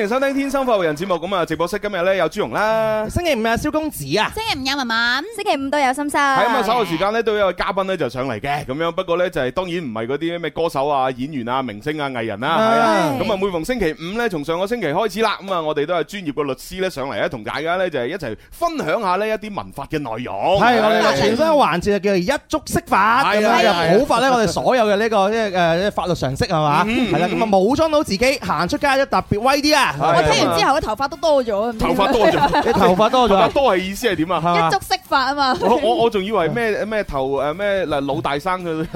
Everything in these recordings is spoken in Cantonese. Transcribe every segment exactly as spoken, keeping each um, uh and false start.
迎收聽《天生發育人》節目。咁啊，直播室今日咧有朱容啦， 星期五啊蕭公子啊， 星期五有文文， 星期五都有心心。 係咁啊，稍後時間咧都有個嘉賓咧就上嚟嘅，咁樣不過咧就係當然唔係嗰啲咩歌手啊、演員啊、明星啊、藝人啦，係啊。咁啊，每逢星期五咧，從上個星期開始啦，咁啊，我哋都係專業嘅律師咧上嚟咧，同大家咧就係一齊分享下呢一啲民法嘅內容。 係我哋嘅全新嘅環節就叫做一觸識法，咁啊就普法咧我哋所有嘅呢個即係誒法律常識係嘛，係啦，咁啊武裝到自己行出街都特別威啲啊！ 我聽完之後嘅頭髮都多咗， 頭髮多咗， 你頭髮多咗， 多係意思係點啊？ 一觸識法啊嘛！ 我我我仲以為咩咩頭誒咩嗱老大生嘅，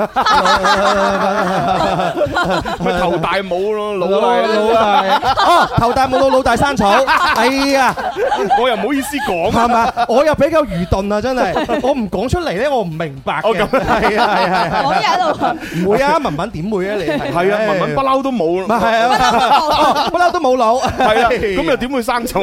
咪頭大冇咯，老大老大哦，頭大冇到老大生草，哎呀， 我又唔好意思講係嘛，我又比較愚鈍啊，真係，我唔講出嚟咧，我唔明白嘅，係啊係係係， 我喺度唔會啊，文文點會啊你？ 係啊，文文不嬲都冇， 係啊，不嬲都冇腦， 係啊，咁又點會生草？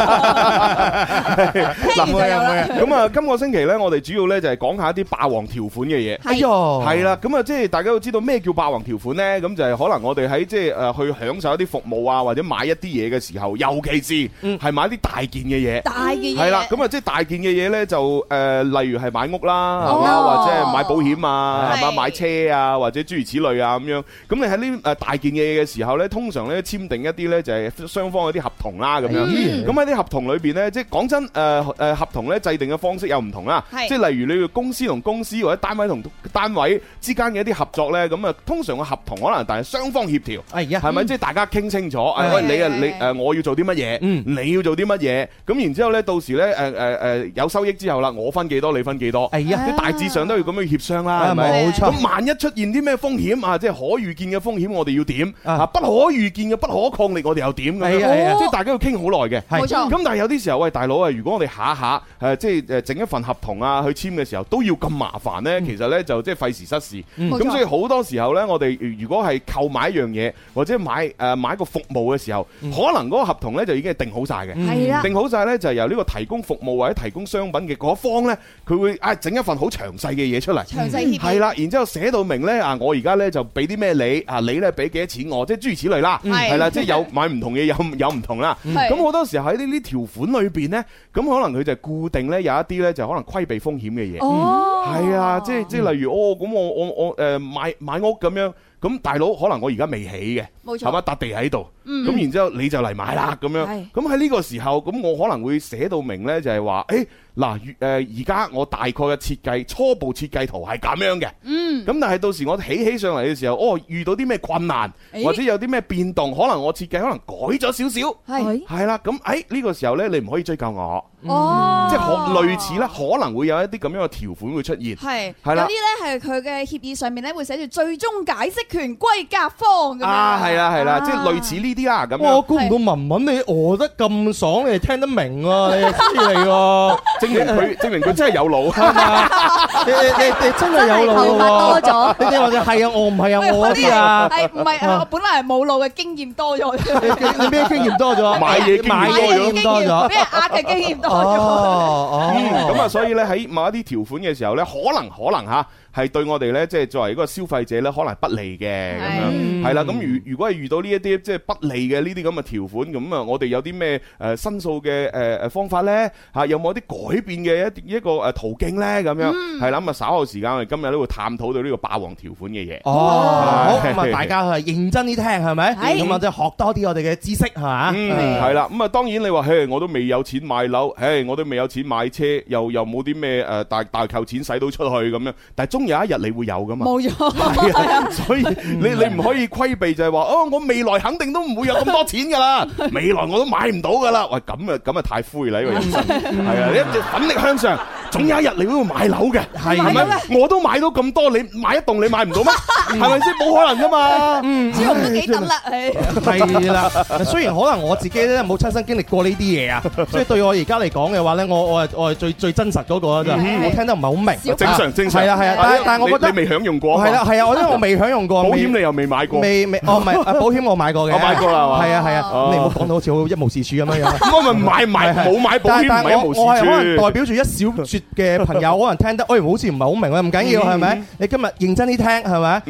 聽完就有啦。 咁啊，今個星期咧，我哋主要咧就係講下一啲霸王條款嘅嘢。 哎喲， 係啦，咁啊，即係大家都知道咩叫霸王條款咧？咁就係可能我哋喺即係誒去享受一啲服務啊，或者買一啲嘢嘅時候，尤其是係買啲大件嘅嘢。 大嘅嘢係啦，咁啊，即係大件嘅嘢咧，就誒，例如係買屋啦，係嘛，或者係買保險啊，係嘛，買車啊，或者諸如此類啊咁樣。咁你喺呢誒大件嘅嘢嘅時候咧，通常咧簽訂一啲咧就係雙方嗰啲合同啦，咁樣。咁喺啲合同裏邊咧，即係講真誒誒合同咧制定嘅方式有唔同啦。即係例如你嘅公司同公司或者單位同單位之間嘅一啲合作咧，咁啊通常個合同可能但係雙方協調，係咪？即係大家傾清楚，誒喂你啊你誒我要做啲乜嘢，你要做啲乜嘢，咁然之後咧到時咧誒誒誒有收益之後啦，我分幾多你分幾多，即係大致上都要咁樣協商啦，係咪？冇錯。咁萬一出現啲咩風險啊，即係可預見嘅風險，我哋要點啊？不可預見嘅不可抗力，我哋又點咁樣？即係大家要傾好耐嘅。冇錯。咁但係有啲時候，喂大佬啊，如果我哋下下誒即係誒整一份合同啊去簽嘅時候都要咁麻煩咧，其實咧就即係費時失事。咁所以好多時候咧，我哋如果係購買一樣嘢或者買誒買一個服務嘅時候，可能嗰個合同咧就已經係定好晒嘅。係啦。定好晒咧就係由呢個提供服務或者提供商品嘅嗰一方咧，佢會啊整一份好詳細嘅嘢出嚟。詳細協議。係啦，然之後寫到明咧啊，我而家咧就俾啲咩你啊，你咧俾幾多錢我，即係諸如此類啦。係啦，即係有買唔同嘢有有唔同啦。咁好多時候喺呢啲條款裏邊咧，咁可能佢就固定咧有一啲咧就可能規避風險嘅嘢。哦，係啊，即係即係例如哦，咁我我我誒買買屋咁樣，咁大佬可能我而家未起嘅，冇錯，係嘛，笪地喺度，咁然之後你就嚟買啦咁樣。咁喺呢個時候，咁我可能會寫到明咧，就係話誒嗱誒而家我大概嘅設計初步設計圖係咁樣嘅。嗯，咁但係到時我起起上嚟嘅時候，哦遇到啲咩困難或者有啲咩變動，可能我設計可能改咗少少，係係啦，咁誒呢個時候咧你唔可以追究我。哦，即係可類似啦，可能會有一啲咁樣嘅條款會出現。係係啦， 有啲咧係佢嘅協議上面咧會寫住最終解釋權歸甲方咁樣。 啊，係啦係啦，即係類似呢啲啦咁樣。 我估唔到文文你餓得咁爽，你係聽得明啊！你係犀利喎， 證明佢證明佢真係有腦。 你你你真係有腦喎！ 多咗， 你哋話就係啊，我唔係啊，我啲啊， 係唔係啊？我本來係冇腦嘅經驗多咗。 你咩經驗多咗？ 買嘢經驗多咗， 俾人呃嘅經驗多咗。 哦哦， 咁啊，所以咧喺某一啲條款嘅時候咧，可能可能吓。係對我哋咧，即係作為一個消費者咧，可能係不利嘅咁樣，係啦。咁如如果係遇到呢一啲即係不利嘅呢啲咁嘅條款，咁啊，我哋有啲咩誒申訴嘅誒誒方法咧？嚇，有冇一啲改變嘅一一個誒途徑咧？咁樣係啦。咁啊，稍後時間我哋今日都會探討到呢個霸王條款嘅嘢。哦， 好咁啊，大家係認真啲聽係咪？咁啊，即係學多啲我哋嘅知識係嘛？ 嗯，係啦。咁啊，當然你話，嘿，我都未有錢買樓，嘿，我都未有錢買車，又又冇啲咩誒大大嚿錢使到出去咁樣，但係終有一日你會有噶嘛？冇錯，所以你你唔可以規避就係話哦，我未來肯定都唔會有咁多錢噶啦，未來我都買唔到噶啦。喂，咁啊咁啊太灰啦呢個人生，係啊，你一直奮力向上，總有一日你會買樓嘅，係咪？我都買到咁多，你買一棟你買唔到咩？係咪先？冇可能噶嘛。嗯， 朱紅都幾等啦， 係啦。雖然可能我自己咧冇親身經歷過呢啲嘢啊，所以對我而家嚟講嘅話咧，我我係我係最最真實嗰個啦，就我聽得唔係好明。 正常正常。係啊係啊，但係但係我覺得你未享用過。係啦係啊，我因為我未享用過。 保險你又未買過？ 未未哦唔係，保險我買過嘅。 我買過啦係嘛？ 係啊係啊，你唔好講到好似好一無是處咁樣樣。 咁我咪買買冇買保險，唔係一無是處。 我係可能代表住一小撮嘅朋友，可能聽得，哎好似唔係好明啊，唔緊要係咪？你今日認真啲聽係咪？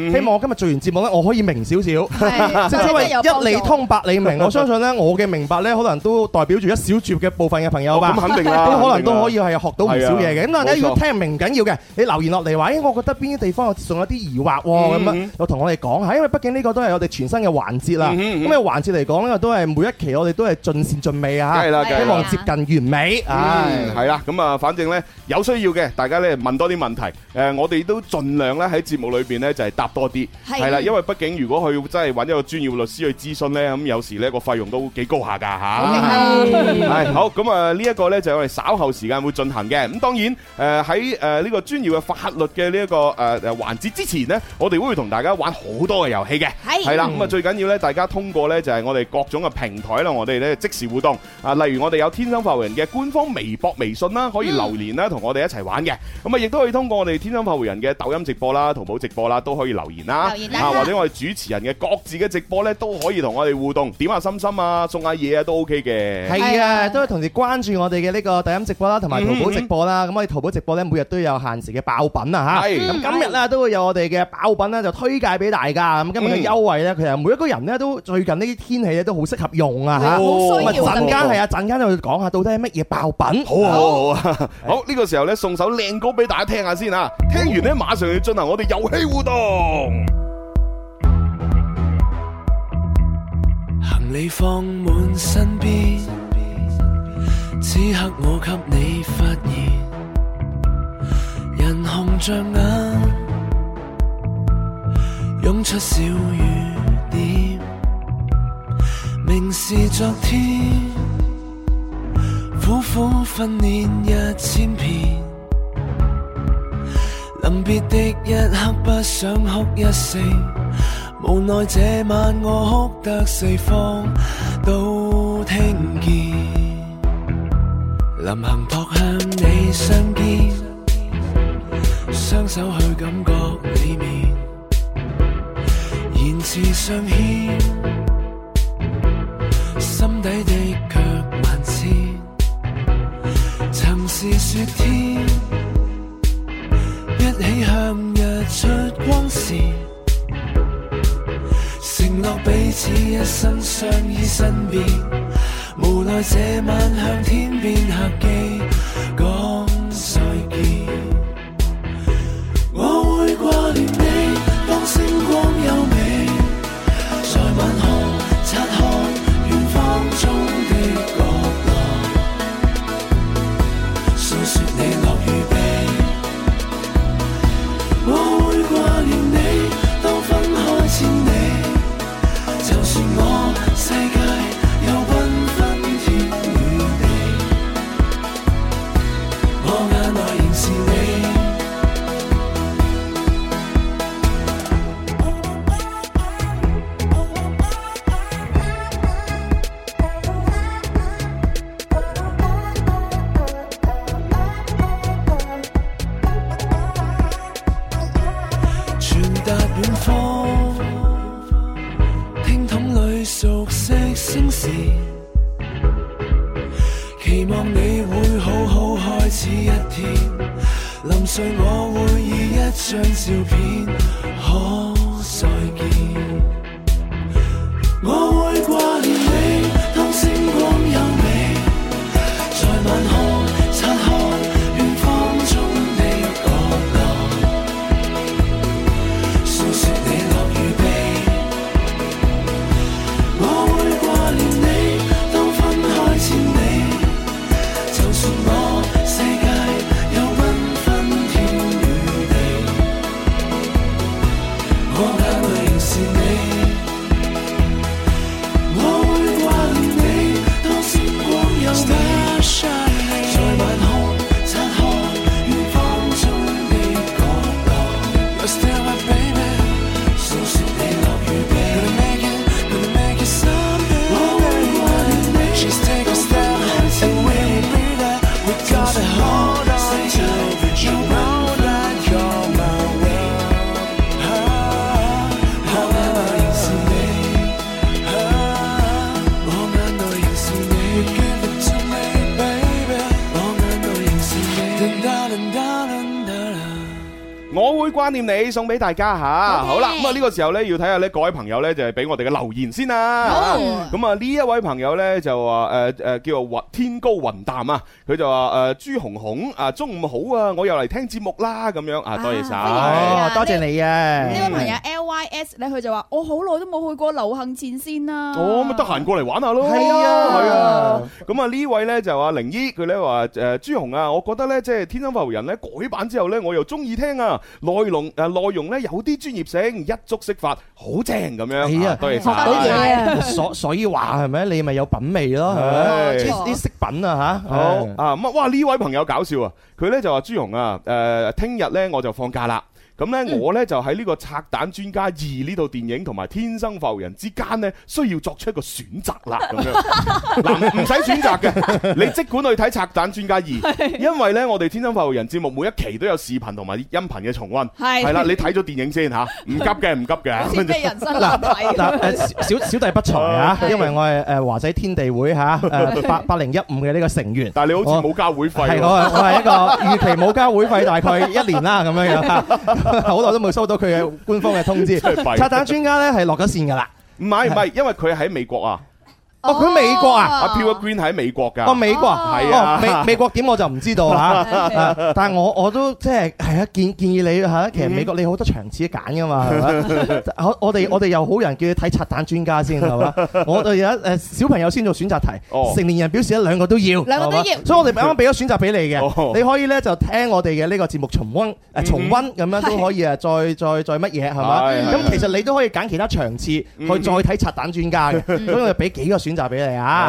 希望我今日做完節目咧，我可以明少少， 係正因為真係有幫助一理通百理明，我相信咧我嘅明白咧，可能都代表住一小撮嘅部分嘅朋友吧。 咁肯定啦， 都可能都可以係學到唔少嘢嘅。咁大家冇錯如果聽唔明唔緊要嘅，你留言落嚟話，誒，我覺得邊啲地方仲有啲疑惑喎，咁樣又同我哋講下，因為畢竟呢個都係我哋全新嘅環節啦。咁呢個環節嚟講咧，都係每一期我哋都係盡善盡美啊， 梗係啦， 希望接近完美。唉， 係啦，咁啊，反正咧有需要嘅，大家咧問多啲問題，誒，我哋都盡量咧喺節目裏邊咧就係答多啲，係啦，因為畢竟如果佢真係揾一個專業律師去諮詢咧，咁有時咧個費用都幾高下㗎嚇。係好，咁啊呢一個咧就係我哋稍後時間會進行嘅。咁當然誒喺誒呢個專業嘅法律嘅呢一個誒誒環節之前呢，我哋會同大家玩好多嘅遊戲嘅，係啦。咁啊最緊要咧，大家通過咧就係我哋各種嘅平台啦，我哋咧即時互動啊。例如我哋有天生發育人嘅官方微博、微信啦，可以留言啦，同我哋一齊玩嘅。咁啊亦都可以通過我哋天生發育人嘅抖音直播啦、淘寶直播啦，都可以留言啦。啊或者我哋主持人嘅各自嘅直播咧，都可以同我哋互動，點下心心啊，送下嘢啊，都 OK 嘅。 係啊，都係同時關注我哋嘅呢個抖音直播啦，同埋淘寶直播啦。咁我哋淘寶直播咧，每日都有限時嘅爆品啊嚇。咁今日咧都會有我哋嘅爆品咧，就推介俾大家。咁今日嘅優惠咧，其實每一個人咧都最近呢啲天氣咧都好適合用啊嚇。咁啊陣間係啊，陣間就會講下到底係乜嘢爆品。 好好好啊！好呢個時候咧，送首靚歌俾大家聽下先啊！聽完咧，馬上要進行我哋遊戲互動。 行李放滿身邊，此刻我給你發現，人紅着眼，湧出小雨點，明是昨天，苦苦訓練一千遍，臨別的一刻不想哭一聲，無奈這晚我哭得四方都聽見，臨行撲向你相見，雙手去感覺裡面，言辭尚欠，心底的卻萬千，曾是雪天，一起向日出光線，承諾彼此一生相依身邊，無奈這晚向天邊客機講再見。我會掛念你，當星光優美，在晚空察看遠方中的角落，訴說你樂與悲。我會掛念你，當分開千里，就算我世界有繽紛天與地，我眼內仍是你。傳達遠方，聽筒裏熟悉聲線，期望你會好好開始一天，臨睡我會以一張照片可再見。我會掛念你，當星光優美，在晚空察看遠方中的角落，訴說你樂與悲。我會掛念你，當分開千里，就算我世界有繽紛天與地，我眼內仍是你。我會掛念你，當星光優美，在晚空我會掛念你，送俾大家吓。好啦，咁啊呢個時候咧要睇下咧各位朋友咧就係俾我哋嘅留言先啦。咁啊呢一位朋友咧就話誒誒叫做雲天高雲淡啊，佢就話誒朱紅紅啊中午好啊，我又嚟聽節目啦咁樣啊，多謝晒， 多謝你啊！ 呢位朋友 L Y S 咧，佢就話我好耐都冇去過流行前線啦。 哦，咁得閒過嚟玩下咯。係啊，係啊。咁啊呢位咧就話靈姨，佢咧話誒朱紅啊，我覺得咧即係天生發福人咧改版之後咧，我又中意聽啊，內容誒內容咧有啲專業性，一觸識法，好正咁樣。係啊，多謝晒。 多謝。 所所以話係咪？你咪有品味咯，係咪？啲飾品啊嚇。好啊咁啊！哇呢位朋友搞笑啊，佢咧就話朱紅啊誒，聽日咧我就放假啦。咁咧，我咧就喺呢個《拆彈專家二》呢套電影同埋《天生發福人》之間咧，需要作出一個選擇啦。咁樣嗱，唔使選擇嘅，你即管去睇《拆彈專家二》，因為咧我哋《天生發福人》節目每一期都有視頻同埋音頻嘅重溫。係係啦，你睇咗電影先嚇，唔急嘅，唔急嘅。 先俾人生難題。 嗱誒，小小弟不才啊，因為我係誒華仔天地會嚇誒八八零一五嘅呢個成員。 但係你好似冇交會費。係我我係一個預期冇交會費，大概一年啦咁樣樣。好耐都冇收到佢嘅官方嘅通知。拆彈專家咧係落咗線㗎啦。 唔係唔係，因為佢喺美國啊。 哦，佢美國啊！ 阿 Pure Green 喺美國㗎。 哦，美國係啊。 美美國點我就唔知道嚇。但係我我都即係係啊，建建議你嚇，其實美國你好多場次揀㗎嘛，係咪？我我哋我哋又好人叫你睇拆彈專家先係嘛？我哋有誒小朋友先做選擇題，成年人表示一兩個都要， 兩個都要。 所以我哋啱啱俾咗選擇俾你嘅，你可以咧就聽我哋嘅呢個節目重溫誒重溫咁樣都可以啊，再再再乜嘢係嘛？咁其實你都可以揀其他場次去再睇拆彈專家嘅，所以我哋俾幾個選擇俾你啊。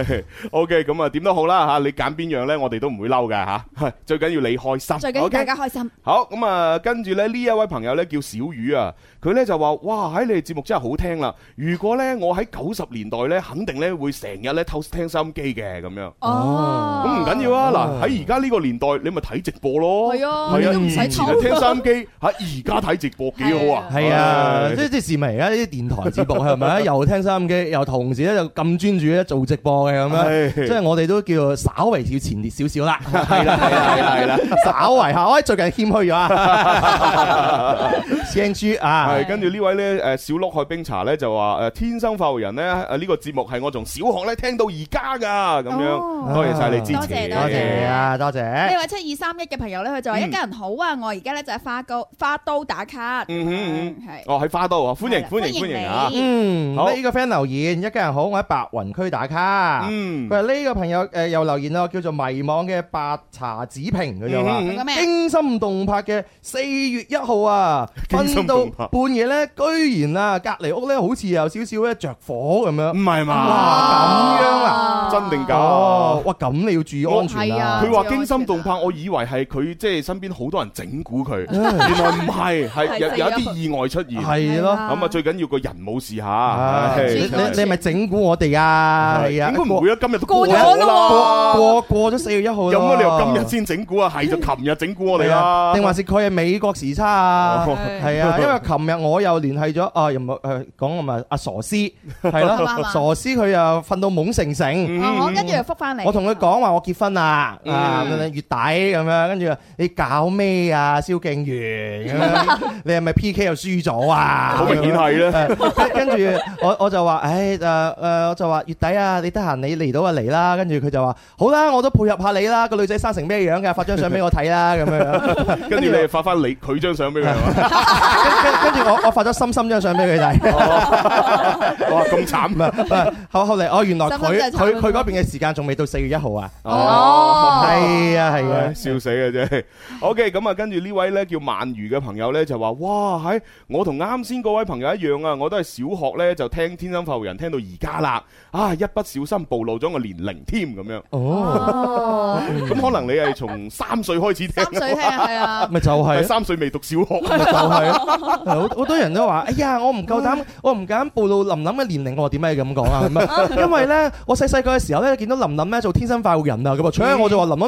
OK， 咁啊點都好啦嚇，你揀邊樣咧，我哋都唔會嬲嘅嚇，最緊要你開心， 最緊要大家開心。 好咁啊，跟住咧呢一位朋友咧叫小魚啊，佢咧就話：哇，喺你哋節目真係好聽啦！如果咧我喺九十年代咧，肯定咧會成日咧偷聽收音機嘅咁樣。哦，咁唔緊要啊！嗱，喺而家呢個年代，你咪睇直播咯。係啊，係啊，以前係聽收音機，喺而家睇直播幾好啊！ 係啊，即係即係視為而家啲電台節目係咪？又聽收音機，又同時咧就咁專注咧做直播嘅咁樣，即係我哋都叫做稍為要前列少少啦。係啦，係啦，係啦，稍為嚇，我最近謙虛咗啊。聲豬啊！ 係跟住呢位咧誒小鹿海冰茶咧就話誒天生發福人咧誒呢個節目係我從小學咧聽到而家噶咁樣，多謝晒你支持， 多謝啊，多謝。 呢位七二三一嘅朋友咧，佢就話一家人好啊，我而家咧就喺花都花都打卡。嗯嗯係。哦喺花都啊，歡迎歡迎歡迎啊！ 嗯，好呢個 friend 留言，一家人好，我喺白雲區打卡。嗯，佢話呢個朋友誒又留言咯，叫做迷惘嘅白茶子平，佢就話驚心動魄嘅四月一號啊，瞓到半夜咧，居然啊隔離屋咧好似有少少咧着火咁樣。唔係嘛？哇咁樣啊？ 真定假？ 哇咁你要注意安全啊！ 佢話驚心動魄，我以為係佢即係身邊好多人整蠱佢，原來唔係，係有有一啲意外出現。係咯，咁啊最緊要個人冇事嚇。 你你係咪整蠱我哋啊？係啊， 應該唔會啊，今日都過咗啦， 過過咗四月一號。 有乜理由今日先整蠱啊？係就琴日整蠱我哋啦。 定還是佢係美國時差啊？係啊，因為琴日我又聯繫咗啊，又冇誒講咁啊阿傻師係咯，傻師佢又瞓到懵成成。 我跟住又覆翻嚟。 我同佢講話我結婚啦，啊月底咁樣，跟住你搞咩啊？蕭敬元咁樣，你係咪 P K 又輸咗啊？ 好明顯係啦。 跟住我我就話，誒誒誒，我就話月底啊，你得閒你嚟到就嚟啦。跟住佢就話好啦，我都配合下你啦。個女仔生成咩樣嘅？發張相俾我睇啦，咁樣。 跟住你發翻你佢張相俾佢。 跟住我我發咗深深張相俾佢睇。 哇，咁慘啊！ 後後嚟哦，原來佢佢佢嗰邊嘅時間仲未到四月一號啊。哦，係啊係啊， 笑死嘅啫。OK，咁啊，跟住呢位咧叫鰻魚嘅朋友咧就話：哇，喺我同啱先嗰位朋友一樣啊，我都係小學咧就聽天生發福人聽到而家啦。啊，一不小心暴露咗個年齡添咁樣。哦，咁可能你係從三歲開始聽。 三歲聽係啊， 咪就係三歲未讀小學， 咪就係咯。好好多人都話：哎呀，我唔夠膽，我唔敢暴露林林嘅年齡。我話點解咁講啊？因為咧，我細細個嘅時候咧，見到林林咧做天生發福人啊，咁啊，所以我就話林林同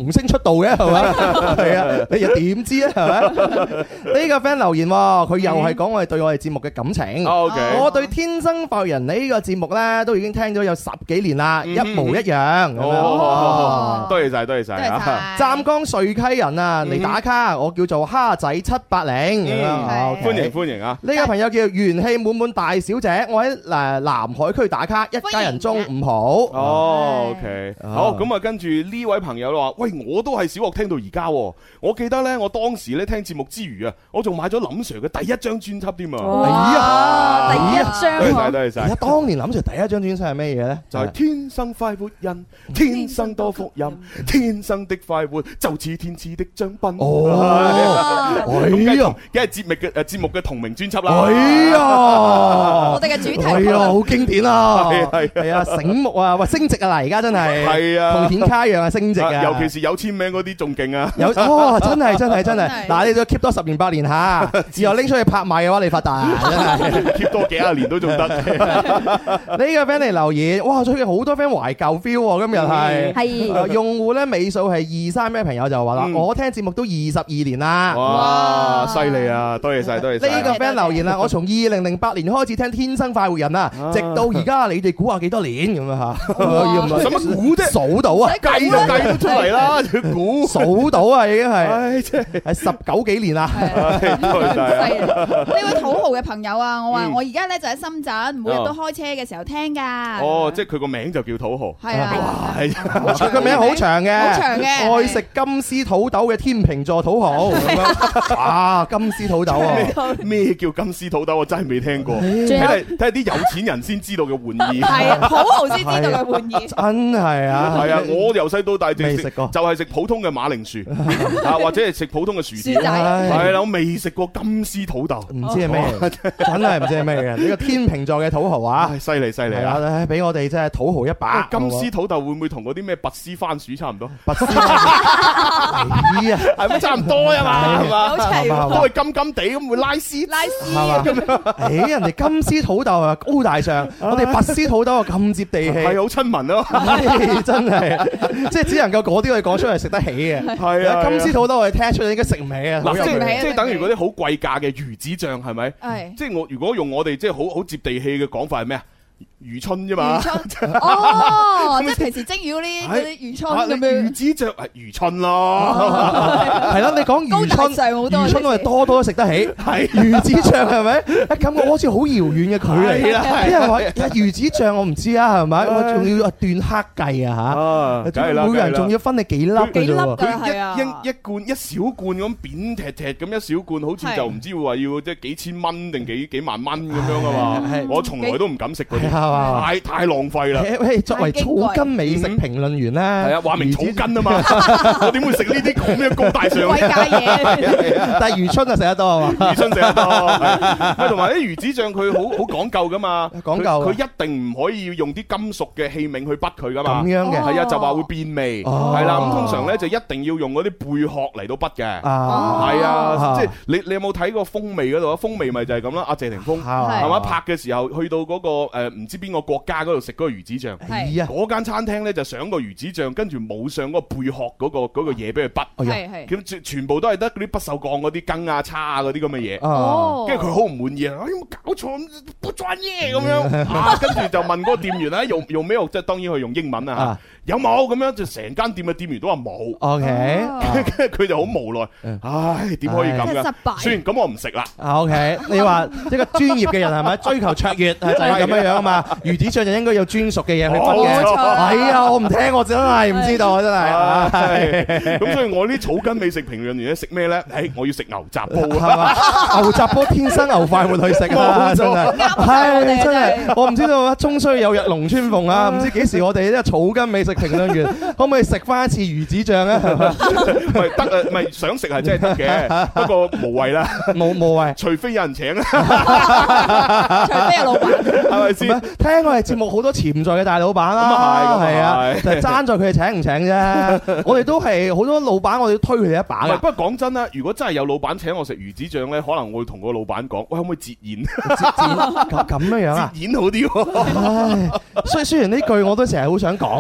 童星出道嘅係咪？係啊，你又點知啊？係咪？呢個 friend 留言，佢又係講我哋對我哋節目嘅感情。 OK， 我對天生快活人呢個節目咧都已經聽咗有十幾年啦，一模一樣。 哦，多謝晒，多謝晒。 湛江瑞溪人啊，嚟打卡，我叫做蝦仔七八零。 歡迎歡迎啊！ 呢個朋友叫元氣滿滿大小姐，我喺誒南海區打卡，一家人中午好。 哦 ，OK，好，咁啊，跟住呢位朋友話：喂，我都係小學聽到而家，我記得咧，我當時咧聽節目之餘啊，我仲買咗林 Sir 嘅第一張專輯添啊！ 哇，第一張， 多謝晒，多謝晒。當年林 Sir 第一張專輯係咩嘢咧？ 就係天生快活人，天生多福蔭，天生的快活就似天賜的獎品。 哦，哎呀， 梗係節目嘅誒節目嘅同名專輯啦。 哎呀， 我哋嘅主題曲， 哎呀，好經典啊！ 係係係啊，醒目啊，喂，升值啊嗱，而家真係係啊， 同顯卡一樣啊，升值啊！ 尤其是有簽名嗰啲仲勁啊！ 有哦，真係真係真係，嗱，你都 keep 多十年八年嚇，之後拎出去拍賣嘅話，你發達啊！真係 keep 多幾廿年都仲得。 呢個 friend 嚟留言，哇！最近好多 friend 懷舊 feel 喎，今日係係用戶咧尾數係二三咩朋友就話啦，我聽節目都二十二年啦。 哇！犀利啊！多謝晒，多謝晒。 呢個 friend 留言啦，我從二零零八年開始聽《天生快活人》啊，直到而家，你哋估下幾多年咁樣嚇？ 使乜估啫？ 數到啊！ 計都計得出嚟啦，要估數到啊，已經係， 唉，真係係十九幾年啦。 多謝晒。 呢位土豪嘅朋友啊，我話我而家咧就喺深圳，每日都開車嘅時候聽㗎。 哦，即係佢個名就叫土豪。 係啊， 佢個名好長嘅， 好長嘅， 愛食金絲土豆嘅天秤座土豪。哇，金絲土豆啊！ 咩叫金絲土豆？我真係未聽過。睇嚟睇下啲有錢人先知道嘅玩意。 係啊，土豪先知道嘅玩意。 真係啊！ 係啊，我由細到大未食過， 就係食普通嘅馬鈴薯啊，或者係食普通嘅薯條。係啦，我未食過金絲土豆， 唔知係咩，真係唔知係咩嘅。呢個天秤座嘅土豪啊， 犀利犀利啊！ 俾我哋真係土豪一把。 金絲土豆會唔會同嗰啲咩拔絲番薯差唔多？ 拔絲咦啊， 係咪差唔多啊嘛？係嘛？ 好齊， 都係金金地咁會拉絲， 拉絲咁樣。誒，人哋金絲土豆啊高大上，我哋拔絲土豆啊咁接地氣， 係好親民咯。 真係，即係只能夠嗰啲我哋講出嚟食得起嘅。係啊，金絲土豆我哋聽出嚟應該食唔起啊。 嗱，即係即係等於嗰啲好貴價嘅魚子醬係咪？係。即係我如果用我哋即係好好接地氣嘅講法係咩啊？魚春啫嘛， 哦，即係平時蒸魚嗰啲嗰啲魚春咁樣， 魚子醬係魚春咯， 係咯，你講魚春，魚春我哋多多都食得起，係魚子醬係咪？感覺好似好遙遠嘅距離啦，啲人話魚子醬我唔知啊，係咪？我仲要斷克計啊嚇，每個人仲要分你幾粒幾粒㗎， 係啊，一一罐一小罐咁扁踢踢咁一小罐，好似就唔知話要即係幾千蚊定幾幾萬蚊咁樣啊嘛，我從來都唔敢食嗰啲。太太浪費啦！ 作為草根美食評論員咧，係啊，話明草根啊嘛，我點會食呢啲咁嘅高大上嘅貴價嘢？ 但係魚春啊食得多啊嘛， 魚春食得多。喂，同埋啲魚子醬佢好好講究噶嘛， 講究佢一定唔可以用啲金屬嘅器皿去滗佢噶嘛。 咁樣嘅係啊，就話會變味。係啦，咁通常咧就一定要用嗰啲貝殼嚟到滗嘅。係啊，即係你你有冇睇過風味嗰度啊？風味咪就係咁啦。阿謝霆鋒係嘛拍嘅時候去到嗰個誒唔知邊個國家嗰度食嗰個魚子醬， 係啊， 嗰間餐廳咧就上個魚子醬，跟住冇上嗰個貝殼嗰個嗰個嘢俾佢滗， 係係， 咁全全部都係得嗰啲不鏽鋼嗰啲羹啊叉啊嗰啲咁嘅嘢， 哦， 跟住佢好唔滿意啊，有冇搞錯不專業咁樣啊，跟住就問嗰個店員咧用用咩？即係當然佢用英文啊，有冇咁樣？就成間店嘅店員都話冇 ，OK， 跟住佢就好無奈，唉，點可以咁噶？算咁我唔食啦。 OK，你話一個專業嘅人係咪追求卓越就係咁樣樣啊嘛？魚子醬就應該有專屬嘅嘢去滗嘅。係啊，我唔聽，我真係唔知道，真係。 咁所以我啲草根美食評論員咧食咩咧？誒，我要食牛雜煲係嘛？牛雜煲天生牛快活去食啊！真係係真係，我唔知道啊，終須有日龍穿鳳啊！唔知幾時我哋呢個草根美食評論員可唔可以食翻一次魚子醬咧？ 唔係得啊，唔係想食係真係得嘅，不過無謂啦， 冇無謂， 除非有人請啊， 除非有老闆， 係咪先？聽我哋節目好多潛在嘅大老闆啦， 咁啊係， 係啊，就係爭在佢哋請唔請啫。我哋都係好多老闆，我哋要推佢哋一把嘅。 不過講真啦，如果真係有老闆請我食魚子醬咧，可能我會同個老闆講，喂，可唔可以截演？ 咁咁樣樣啊？ 截演好啲喎。 唉，雖雖然呢句我都成日好想講嘅，係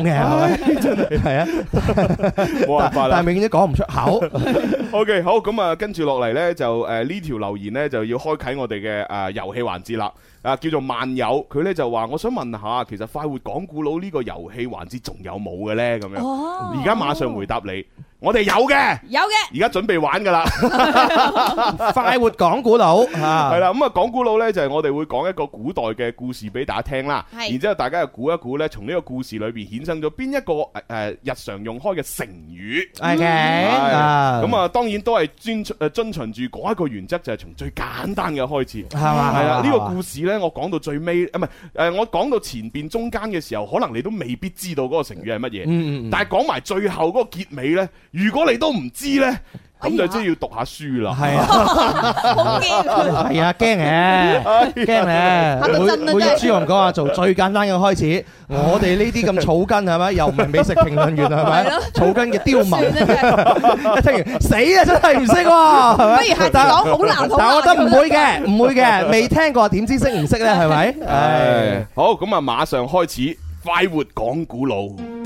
真係係啊， 冇辦法啦， 但係永遠都講唔出口。 OK， 好，咁啊，跟住落嚟咧就誒呢條留言咧就要開啟我哋嘅誒遊戲環節啦。啊，叫做萬友，佢咧就話：我想問下，其實快活講古佬呢個遊戲環節仲有冇嘅咧？咁樣，而家馬上回答你。我哋有嘅， 有嘅， 而家準備玩噶啦！ 快活講古佬，係啦，咁啊講古佬呢，就係我哋會講一個古代嘅故事俾大家聽啦，然之後大家又估一估呢，從呢個故事裏邊衍生咗邊一個誒誒日常用開嘅成語。 係嘅， 咁啊當然都係遵誒遵循住嗰一個原則，就係從最簡單嘅開始， 係嘛？ 係啦，呢個故事呢，我講到最尾，唔係誒，我講到前邊中間嘅時候，可能你都未必知道嗰個成語係乜嘢，嗯嗯，但係講埋最後嗰個結尾呢。如果你都唔知咧，咁就真係要讀下書啦。係啊， 好驚， 係啊，驚嘅，驚咧。每每日朱紅講話做最簡單嘅開始，我哋呢啲咁草根係咪？又唔係美食評論員係咪？草根嘅刁民，一聽完死啊！真係唔識喎，係咪？ 不如下次講好難， 但係我覺得唔會嘅，唔會嘅，未聽過點知識唔識咧？係咪？ 係好，咁啊，馬上開始快活講古佬。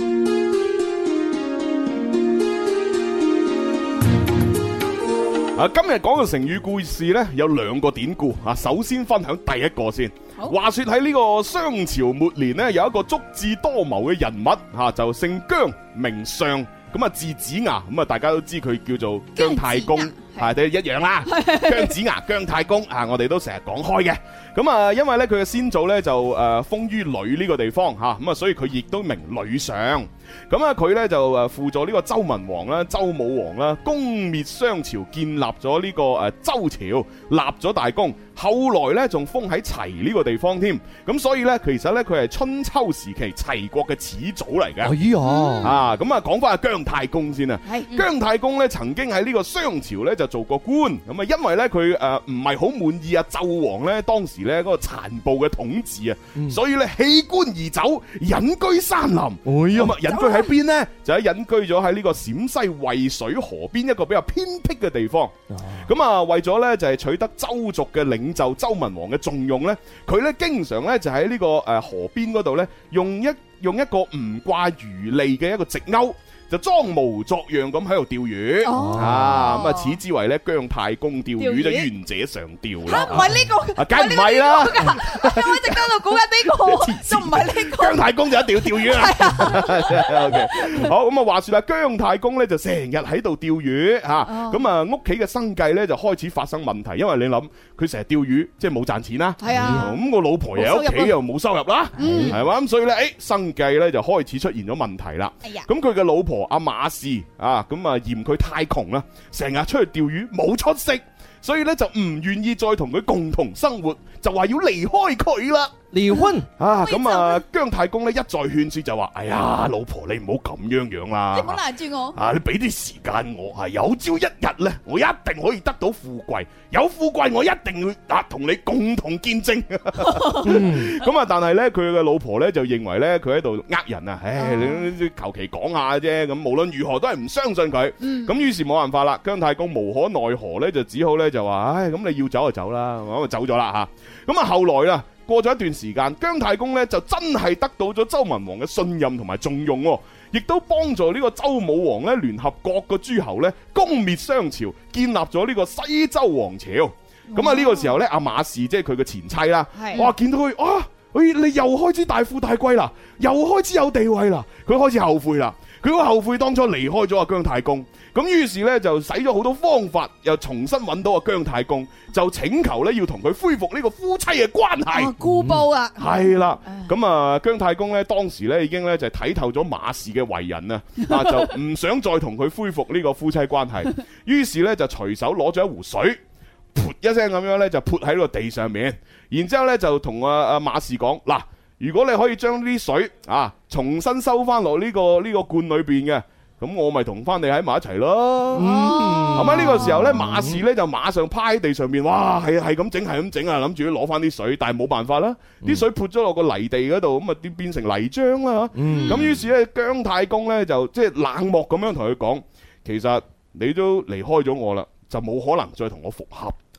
啊，今日講嘅成語故事呢，有兩個典故啊。首先分享第一個先。話說喺呢個商朝末年呢，有一個足智多謀嘅人物吓，啊，就姓姜，名尚，咁啊字子牙，咁啊大家都知佢叫做姜太公，係都一樣啦。姜子牙、姜太公啊，我哋都成日講開嘅。咁啊，因為呢，佢嘅先祖呢，就誒封於呂呢個地方吓，咁啊所以佢亦都名呂尚。咁啊，佢咧就誒輔助呢個周文王啦、周武王啦，攻滅商朝，建立咗呢個誒周朝，立咗大功。後來咧仲封喺齊呢個地方添。咁所以咧，其實咧佢係春秋時期齊國嘅始祖嚟嘅。 哎呀， 啊，咁啊講翻阿姜太公先啊。 係姜太公咧曾經喺呢個商朝咧就做過官。咁啊，因為咧佢誒唔係好滿意啊紂王咧當時咧嗰個殘暴嘅統治啊，嗯、所以咧棄官而走，隱居山林。哎呀，咁啊居喺邊呢？就喺隱居咗喺呢個陝西渭水河邊一個比較偏僻嘅地方。咁啊，為咗呢，就係取得周族嘅領袖周文王嘅重用呢，佢呢經常呢，就喺呢個誒河邊嗰度呢，用一用一個唔掛魚餌嘅一個直鈎，就裝模作樣咁喺度釣魚。哦、啊，咁啊，此之為咧姜太公釣魚就願者上釣啦。唔係呢個，梗唔係啦。 我一直喺度估緊呢個，都唔係呢個。 姜太公就一定要釣魚啊。OK， 好，咁啊，話說啦，姜太公咧就成日喺度釣魚吓，咁啊屋企嘅生計咧就開始發生問題，因為你諗佢成日釣魚，即係冇賺錢啦。係啊，咁個老婆又喺屋企又冇收入啦，係嘛，咁所以咧，誒，生計咧就開始出現咗問題啦。咁佢嘅老婆阿馬氏啊，咁啊嫌佢太窮啦，成日出去釣魚冇出息，所以咧就唔願意再同佢共同生活，就話要離開佢啦。 離婚啊！咁啊，姜太公咧一再勸說就話：哎呀，老婆你唔好咁樣樣啦， 你唔好攔住我啊！你俾啲時間我，係有朝一日咧，我一定可以得到富貴，有富貴我一定會啊同你共同見證。咁啊，但係咧佢嘅老婆咧就認為咧佢喺度呃人啊！唉，你求其講下啫，咁無論如何都係唔相信佢。咁於是冇辦法啦，姜太公無可奈何咧，就只好咧就話：唉，咁你要走就走啦，咁啊走咗啦吓。咁啊後來啦。過咗一段時間，姜太公咧就真係得到咗周文王嘅信任同埋重用，亦都幫助呢個周武王咧聯合各個諸侯咧攻滅商朝，建立咗呢個西周王朝。咁啊呢個時候咧，阿馬氏即係佢嘅前妻啦，哇見到佢啊，誒你又開始大富大貴啦，又開始有地位啦，佢開始後悔啦。佢好後悔當初離開咗阿姜太公，咁於是咧就使咗好多方法，又重新揾到阿姜太公，就請求咧要同佢恢復呢個夫妻嘅關係。 故報啊， 係啦，咁啊姜太公咧當時咧已經咧就睇透咗馬氏嘅為人啊，啊就唔想再同佢恢復呢個夫妻關係，於是咧就隨手攞咗一壺水，噗一聲咁樣咧就潑喺個地上面，然之後咧就同阿阿馬氏講嗱。如果你可以將啲水啊重新收翻落呢個呢個罐裏邊嘅，咁我咪同翻你喺埋一齊咯。係咪呢個時候咧，馬氏咧就馬上趴喺地上面，哇，係係咁整，係咁整啊，諗住攞翻啲水，但係冇辦法啦，啲水潑咗落個泥地嗰度，咁啊變變成泥漿啦。咁於是咧，姜太公咧就即係冷漠咁樣同佢講，其實你都離開咗我啦，就冇可能再同我復合。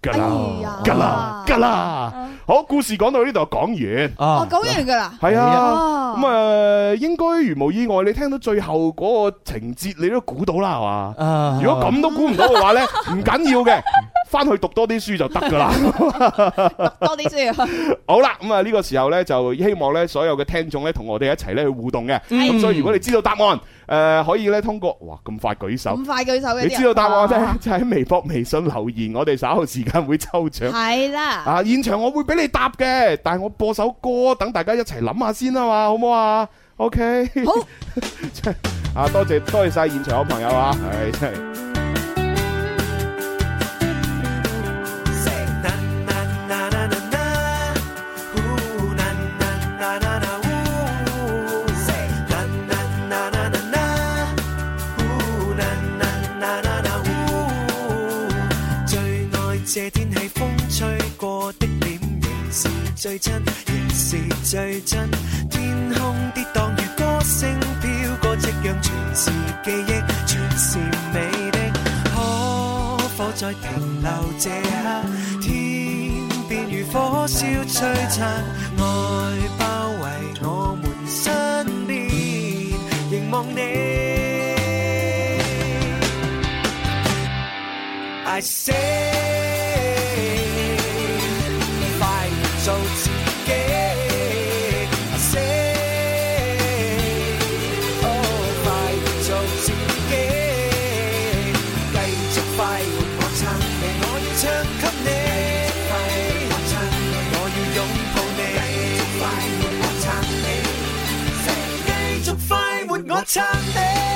㗎啦，㗎啦，㗎啦。好，故事講到呢度講完。 哦，講完㗎啦。 係啊。咁啊，應該如無意外，你聽到最後嗰個情節，你都估到啦，係嘛？如果咁都估唔到嘅話咧，唔緊要嘅。翻去讀多啲書就得噶啦， 讀多啲書。 好啦，咁啊呢個時候咧就希望咧所有嘅聽眾咧同我哋一齊咧去互動嘅。咁所以如果你知道答案，誒可以咧通過，哇咁快舉手， 咁快舉手嘅， 你知道答案咧就喺微博、微信留言，我哋稍後時間會抽獎。 係啦， 啊現場我會俾你答嘅，但係我播首歌，等大家一齊諗下先啊嘛，好唔好啊 ？OK。 好。 啊多謝多謝晒現場嘅朋友啊，係真係。 這天氣風吹過的臉仍是最真，仍是最真。天空跌宕如歌聲飄過，夕陽全是記憶，全是美的。可否再停留這刻？天邊如火燒璀璨，愛包圍我們身邊，凝望你。I say。做自己 I say oh 快做自己，繼續快活我撐你，我要唱給你，快活我撐你，我要擁抱你，繼續快活我撐你，繼續快活我撐你。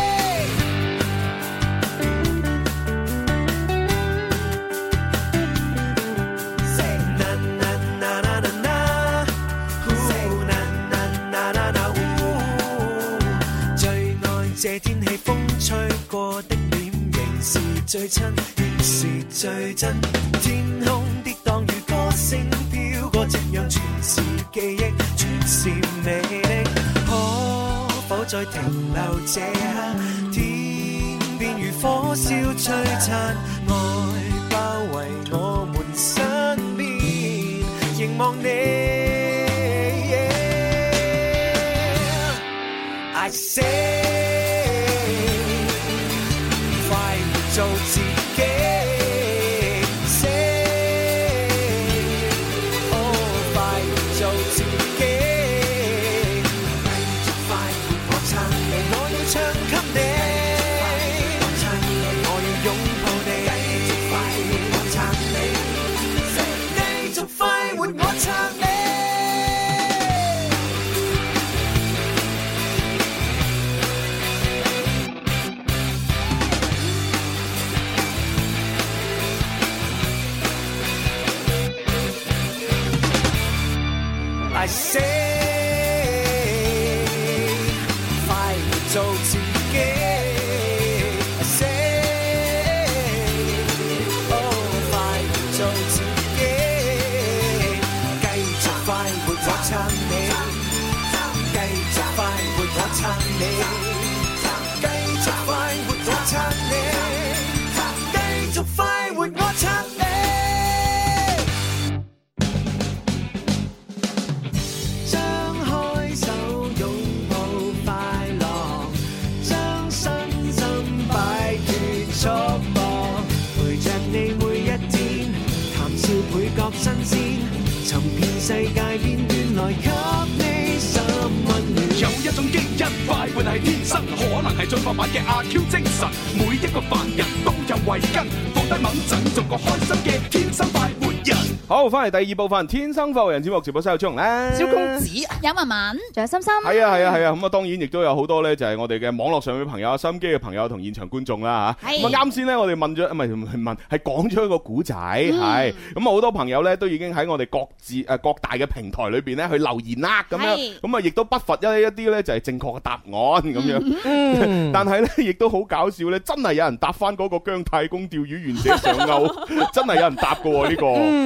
這天氣風吹過的臉仍是最親，仍是最真。天空跌宕如歌聲飄過，夕陽全是記憶，全是美麗。可否再停留這刻？天邊如火燒璀璨，愛包圍我們身邊，凝望你。I say。做自己 ，say， 哦，快做自己，繼續快活我撐你，我要唱給你，我撐你，我要擁抱你，繼續快活我撐你，繼續快活我撐你。I say， 快活做自己 I say， oh， 快活做自己，繼續快活我撐你，繼續快活我撐你，繼續快活我撐你，繼續快活我撐你。新鮮，尋遍世界邊緣來給你十溫暖。有一種基因快活係天生，可能係進化版嘅阿 Q 精神。每一個凡人都有慧根，放低猛陣，做個開心嘅天生快活人。 好，翻嚟第二部分《天生快活人》節目直播室有張咧， 小公子、有文文，仲有心心。 係啊係啊係啊，咁啊當然亦都有好多咧，就係我哋嘅網絡上嘅朋友、收音機嘅朋友同現場觀眾啦嚇。咁啊啱先咧，我哋問咗唔係唔係問，係講咗一個古仔，係咁啊好多朋友咧都已經喺我哋各自誒各大嘅平台裏邊咧去留言啦，咁樣咁啊亦都不乏一一啲咧就係正確嘅答案咁樣。嗯、但係咧亦都好搞笑咧，真係有人答翻嗰個姜太公釣魚願者上鈎，真係有人答嘅喎呢個。 我哋會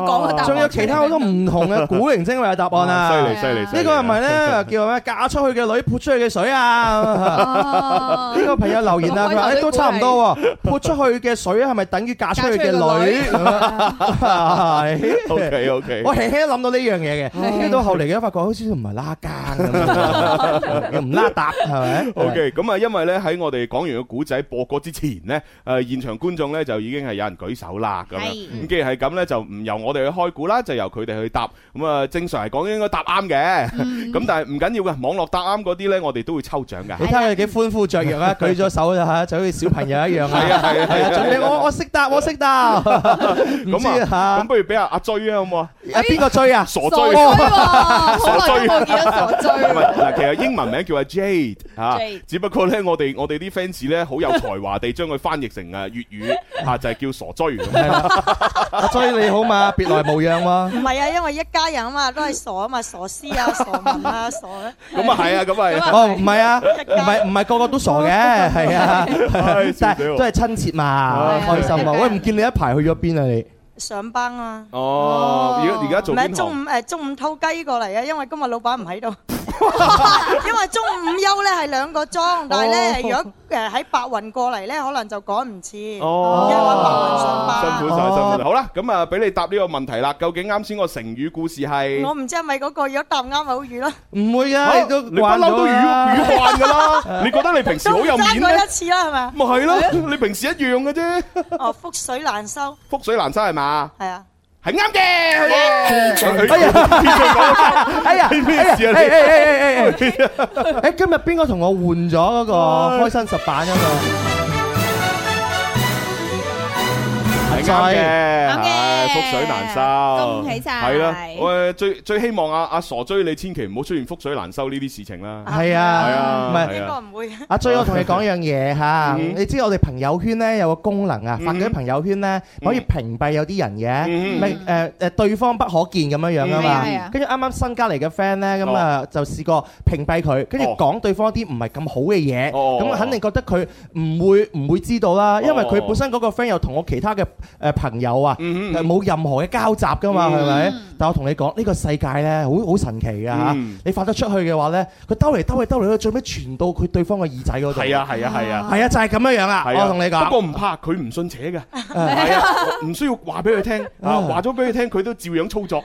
講個答案。 仲有其他好多唔同嘅古靈精怪嘅答案啊！ 犀利犀利！ 呢個係咪咧叫咩？嫁出去嘅女潑出去嘅水啊！呢個朋友留言啊，佢話誒都差唔多喎，潑出去嘅水係咪等於嫁出去嘅女？係。 OK OK。 我輕輕諗到呢樣嘢嘅，跟住到後嚟嘅發覺好似唔係拉更咁，又唔拉搭係咪 ？OK， 咁啊，因為咧喺我哋講完個古仔播歌之前呢，誒現場觀眾咧就已經係有人舉手啦，咁樣。咁既然係咁咧，就唔由我哋去開估啦，就由佢哋去答。咁啊，正常嚟講應該答啱嘅。咁但係唔緊要嘅，網絡答啱嗰啲咧，我哋都會抽獎㗎。 你睇佢幾歡呼雀躍啊！舉咗手就嚇，就好似小朋友一樣啊！ 係啊係啊係啊！ 準備我我識答我識答。 咁啊，咁不如俾阿阿追啊好唔好啊？ 啊邊個追啊？ 傻追， 傻追，冇見到傻追。 嗱，其實英文名叫阿 Jade 嚇，只不過咧我哋我哋啲 fans 咧好有才華地將佢翻譯成誒粵語嚇，就係叫傻追咁。 阿追你好嘛？別來無恙喎。 唔係啊，因為一家人啊嘛，都係傻啊嘛，傻師啊、傻文啊、傻咧。 咁啊係啊，咁啊。 哦，唔係啊，唔係唔係個個都傻嘅，係啊，但係都係親切嘛，開心啊！喂，唔見你一排去咗邊啊你？ 上班啊！ 哦，而家而家做邊行？ 唔係中午誒，中午偷雞過嚟啊！因為今日老闆唔喺度。因為中午休咧係兩個鐘，但係咧如果誒喺白雲過嚟咧，可能就趕唔切。哦，因為白雲上班。 辛苦晒，辛苦。好啦，咁啊，俾你答呢個問題啦。究竟啱先個成語故事係？ 我唔知係咪嗰個，如果答啱咪好語咯。 唔會噶，你都你不嬲都語語慣噶啦。你覺得你平時好有面咩？ 爭過一次啦，係咪？ 咪係咯，你平時一樣嘅啫。 哦，覆水難收。 覆水難收係嘛？ 係啊。 係啱嘅，哎呀， 哎呀，咩事啊？誒誒誒誒誒，誒今日邊個同我換咗嗰個開心十版嗰個？ 係啱嘅， 啱嘅， 覆水難收， 恭喜晒。 係啦，我最最希望阿阿傻追你千祈唔好出現覆水難收呢啲事情啦。 係啊，係啊，唔係應該唔會。 阿追，我同你講樣嘢嚇，你知我哋朋友圈咧有個功能啊，發嗰啲朋友圈咧可以屏蔽有啲人嘅，咪誒誒對方不可見咁樣樣啊嘛。跟住啱啱新加嚟嘅 friend 咧，咁啊就試過屏蔽佢，跟住講對方啲唔係咁好嘅嘢，咁肯定覺得佢唔會唔會知道啦，因為佢本身嗰個 friend 又同我其他嘅誒朋友啊，冇任何嘅交集噶嘛，係咪？但我同你講，呢個世界咧，好好神奇噶嚇。你發得出去嘅話咧，佢兜嚟兜去兜嚟，佢最尾傳到佢對方嘅耳仔嗰度。係啊係啊係啊， 係啊，就係咁樣樣啦。我同你講， 不過唔怕，佢唔信邪嘅，係啊，唔需要話俾佢聽啊，話咗俾佢聽，佢都照樣操作。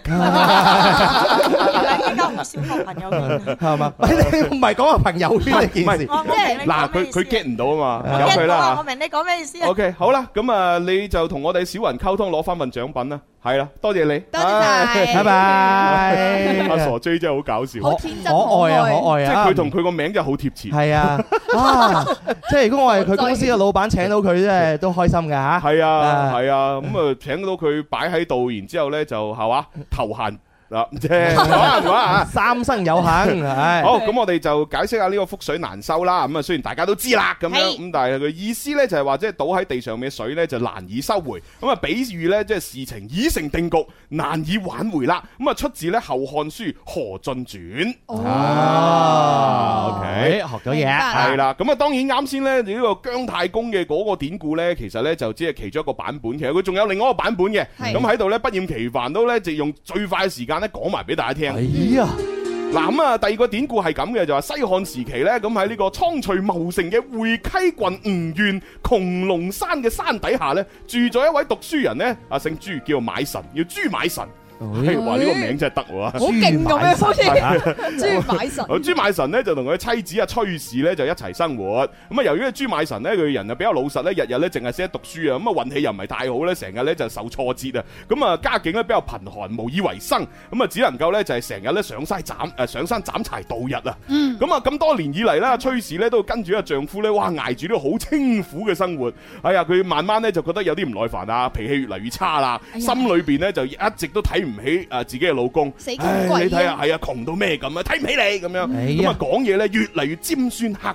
依家唔少學朋友圈係嘛？唔係講個朋友圈呢件事。 嗱，佢佢 get 唔到啊嘛，由佢啦。 我明你講咩意思。 O K， 好啦，咁啊，你就同我哋小雲溝通，攞翻份獎品啦。係啦，多謝你， 多謝晒， 拜拜。 阿傻 J 真係好搞笑， 好天真可愛啊，可愛啊！ 即係佢同佢個名真係好貼切。 係啊，啊，即係如果我係佢公司嘅老闆，請到佢，真係都開心㗎嚇。 係啊，係啊，咁啊請到佢擺喺度，然之後咧就係話頭閒。嗱，即係講人話啊， 三生有幸。係好，咁我哋就解釋下呢個覆水難收啦。咁啊，雖然大家都知啦，咁樣咁，但係佢意思咧就係話，即係倒喺地上面嘅水咧就難以收回。咁啊，比喻咧即係事情已成定局，難以挽回啦。咁啊，出自咧《後漢書·何進傳》。 哦，OK，學咗嘢， 係啦。咁啊，當然啱先咧呢個姜太公嘅嗰個典故咧，其實咧就只係其中一個版本。其實佢仲有另外一個版本嘅。咁喺度咧不厭其煩都咧就用最快嘅時間。講埋俾大家聽。 哎呀， 嗱咁啊，第二個典故係咁嘅，就話西漢時期咧，咁喺呢個蒼翠茂盛嘅會稽郡吳縣穹窿山嘅山底下咧，住咗一位讀書人咧，啊姓朱，叫買神，叫朱買神。哇！呢個名真係得喎， 好勁咁樣，好似朱買神。 朱買神咧就同佢妻子阿崔氏咧就一齊生活。咁啊，由於朱買神咧佢人啊比較老實咧，日日咧淨係識得讀書啊，咁啊運氣又唔係太好咧，成日咧就受挫折啊。咁啊家境咧比較貧寒，無以為生。咁啊只能夠咧就係成日咧上山斬誒上山斬柴度日啊。咁啊咁多年以嚟咧，崔氏咧都跟住阿丈夫咧，哇捱住呢個好清苦嘅生活。哎呀，佢慢慢咧就覺得有啲唔耐煩啊，脾氣越嚟越差啦，心裏邊咧就一直都睇唔起誒自己嘅老公， 死窮鬼， 你睇下係啊，窮到咩咁啊，睇唔起你咁樣，咁啊講嘢咧越嚟越尖酸刻薄，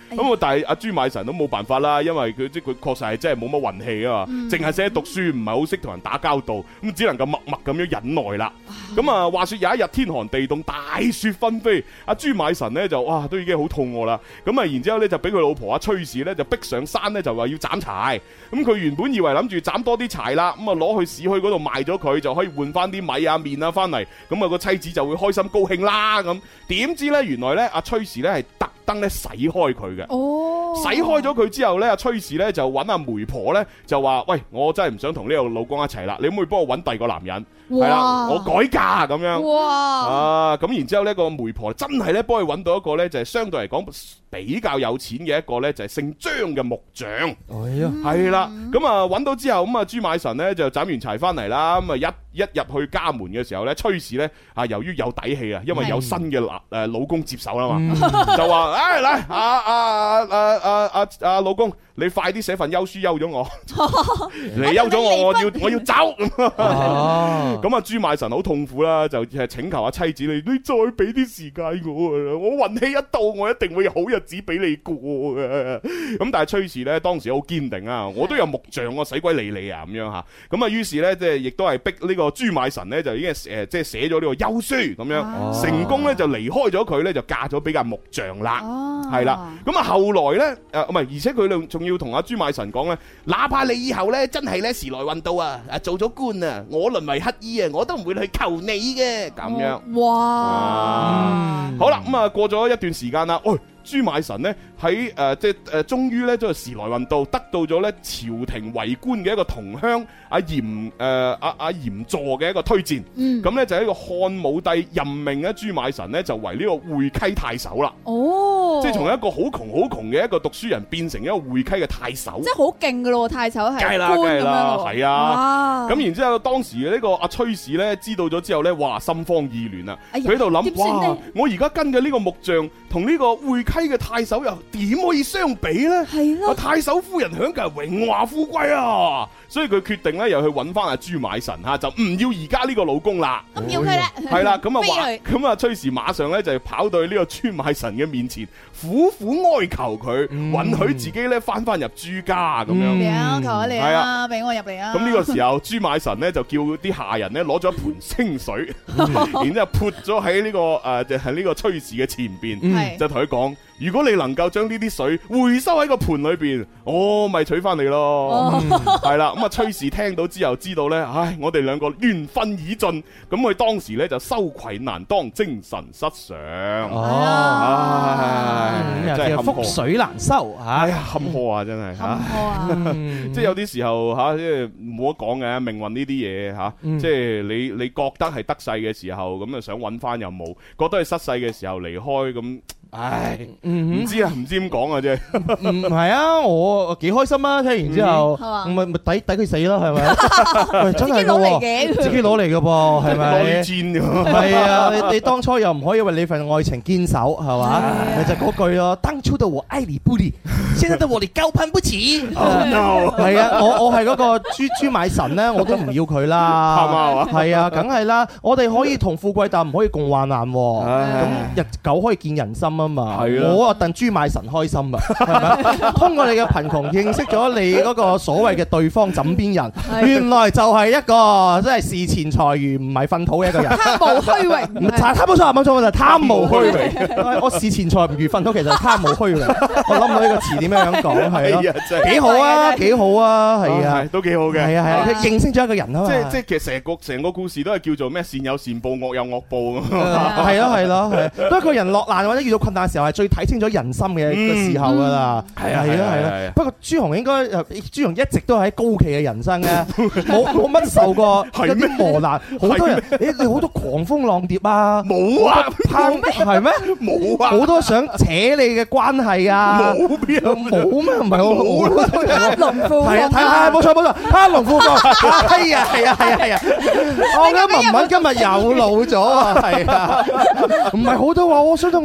咁啊，但係阿朱買臣都冇辦法啦，因為佢即係佢確實係真係冇乜運氣啊嘛，淨係識讀書，唔係好識同人打交道，咁只能夠默默咁樣忍耐啦。咁啊，話說有一日天寒地凍，大雪紛飛，阿朱買臣咧就哇都已經好肚餓啦。咁啊，然之後咧就俾佢老婆阿崔氏咧就逼上山咧，就話要斬柴。咁佢原本以為諗住斬多啲柴啦，咁啊攞去市區嗰度賣咗佢，就可以換翻啲米啊麵啊翻嚟，咁啊個妻子就會開心高興啦。咁點知咧原來咧阿崔氏咧係特登咧洗開佢嘅。哦，洗開咗佢之後咧，阿崔氏咧就揾阿媒婆咧就話：喂，我真係唔想同呢個老公一齊啦，你可唔可以幫我揾第二個男人？係啦，我改嫁咁樣。哇！啊，咁然之後呢個媒婆真係咧幫佢揾到一個咧，就係相對嚟講比較有錢嘅一個咧，就係姓張嘅木匠。哎呀，係啦，咁啊揾到之後，咁啊朱買臣咧就斬完柴翻嚟啦，咁啊一一入去家門嘅時候咧，崔氏咧啊由於有底氣啊，因為有新嘅誒老公接手啦嘛，就話：誒嚟啊啊啊啊啊啊老公，你快啲寫份休書休咗我，你休咗我，我要我要走。咁啊朱買臣好痛苦啦，就係請求阿妻子，你你再俾啲時間我啊，我運氣一到，我一定會有好日子俾你過嘅。咁但係崔氏咧當時好堅定啊，我都有木匠，我使鬼理你啊咁樣吓。咁啊於是咧即係亦都係逼呢個朱買臣咧就已經誒即係寫咗呢個休書咁樣，成功咧就離開咗佢咧，就嫁咗俾間木匠啦。係啦，咁啊後來咧誒唔係，而且佢仲要同阿朱買臣講咧，哪怕你以後咧真係咧時來運到啊，啊做咗官啊，我淪為乞衣啊，我都唔會去求你嘅咁樣。哇！好啦，咁啊過咗一段時間啦，喂。朱買臣咧喺誒即係誒，終於咧都係時來運到，得到咗咧朝廷為官嘅一個同鄉阿嚴誒阿阿嚴助嘅一個推薦，咁咧、嗯、就係一個漢武帝任命咧朱買臣咧就為呢個會稽太守啦。哦，即係從一個好窮好窮嘅一個讀書人變成一個會稽嘅太守，即係好勁噶咯，太守係官咁樣咯，係啊。咁然之後當時呢個阿崔氏咧知道咗之後咧，哇心慌意亂啊！佢喺度諗，哇我而家跟嘅呢個木匠同呢個會稽嘅太守又點可以相比呢？係咯，太守夫人享嘅係榮華富貴啊！所以佢決定咧，又去揾翻阿朱買臣吓，就唔要而家呢個老公啦。咁要佢啦，係啦，咁啊話，咁啊崔氏馬上咧就跑到去呢個朱買臣嘅面前，苦苦哀求佢，允許自己咧翻翻入朱家咁樣。求下你啊，俾我入嚟啊！咁呢個時候，朱買臣咧就叫啲下人咧攞咗一盆清水，然之後潑咗喺呢個誒，就係呢個崔氏嘅前邊，就同佢講。如果你能夠將呢啲水回收喺個盆裏邊，我咪娶翻你咯。係啦，咁啊崔氏聽到之後知道咧，唉，我哋兩個緣分已盡，咁佢當時咧就羞愧難當，精神失常。哦，唉，真係覆水難收，哎呀，坎坷啊，真係。坎坷啊！即係有啲時候吓，即係冇得講嘅命運呢啲嘢吓，即係你你覺得係得勢嘅時候，咁啊想揾翻又冇；覺得係失勢嘅時候離開咁。唉，唔知啊，唔知點講啊，啫。唔係啊，我幾開心啊！聽完之後，咪咪抵抵佢死咯，係咪？真係攞嚟嘅，自己攞嚟嘅噃，係咪？攞錢㗎，係啊！你你當初又唔可以為你份愛情堅守，係嘛？咪就嗰句咯。當初的我愛你不理，現在的我哋高攀不起。係啊，我我係嗰個朱朱買臣咧，我都唔要佢啦。係嘛？係啊，梗係啦。我哋可以同富貴，但唔可以共患難。咁日久可以見人心啊！我啊戥朱買臣開心啊，係咪？通過你嘅貧窮認識咗你嗰個所謂嘅對方枕邊人，原來就係一個真係視錢財如唔係糞土嘅一個人，貪慕虛榮。唔係，冇錯冇錯，就係貪慕虛榮。我視錢財唔如糞土，其實係貪慕虛榮。我諗唔到呢個詞點樣樣講，係咯，幾好啊，幾好啊，係啊，都幾好嘅，係啊係啊，認識咗一個人啊嘛。即係即係其實成個成個故事都係叫做咩？善有善報，惡有惡報咁。係咯係咯係，當一個人落難或者遇到困難嘅時候，係最睇清楚人心嘅個時候噶啦。係啊係啊係啊。不過朱紅應該朱紅一直都喺高企嘅人生嘅，冇冇乜受過一啲磨難。好多人你你好多狂風浪蝶啊，冇啊，係咩？冇啊，好多想扯你嘅關係啊，冇邊有冇咩？唔係我貪龍富係啊，係啊，冇錯冇錯，貪龍富貴係啊係啊係啊係啊。我覺得文文今日又老咗啊，係啊，唔係好多話我想同你喺一齊。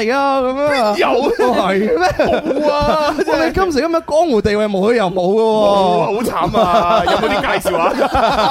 嚟啊？咁樣有係咩？ 冇啊！ 我哋今時今日江湖地位冇佢又冇嘅喎， 好慘啊！有冇啲介紹啊？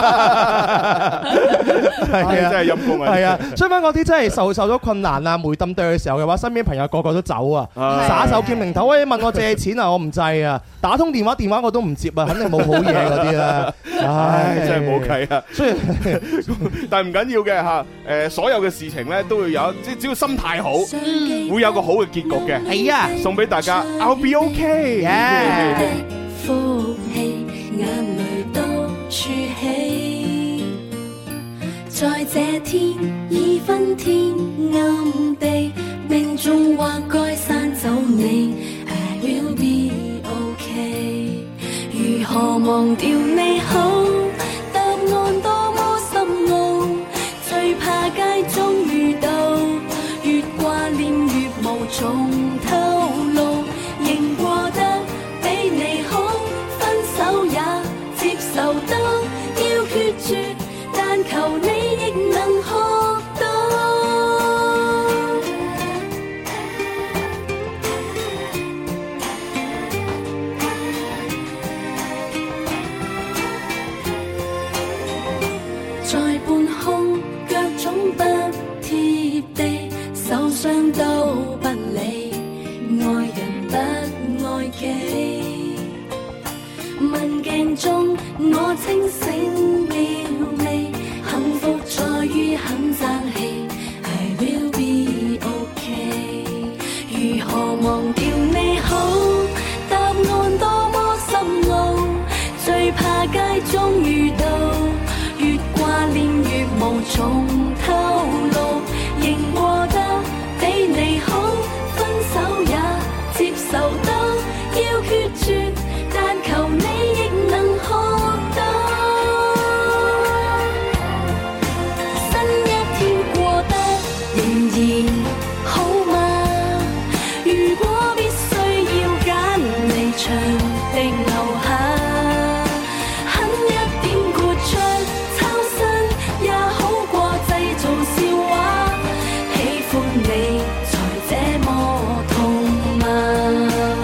係啊，真係陰公啊！ 係啊，相反嗰啲真係受受咗困難啊、梅冧對嘅時候嘅話，身邊朋友個個都走啊，耍手兼零頭，喂，問我借錢啊，我唔制啊，打通電話電話我都唔接啊，肯定冇好嘢嗰啲啦。 唉，真係冇計啊！ 所以， 但係唔緊要嘅嚇，誒，所有嘅事情咧都會有，即係只要心態好，會有個好嘅結局嘅。 係啊， 送俾大家 ，I'll be OK。 呼氣，眼淚都儲起，在這天已昏天暗地，命中或該刪走你 ，I will be OK。如何忘掉你好？答案多麼深奧，最怕街中遇到，越掛念越無從透露，仍過得比你好，分手也接受得，要決絕，但求你亦能學到。在半空，腳總不貼地，受傷都不理，愛人不愛己。問鏡中我清醒了未？幸福在於肯爭氣 ，I will be OK。如何忘掉你好？答案多麼深奧，最怕街中遇到，越掛念越無從透露，仍過得比你好，分手也接受得，要決絕，但求你亦能學到。新一天過得仍然好嗎？如果必須要揀離場定留下，狠一點豁出抽身也好過製造笑話，喜歡你才這麼痛嗎？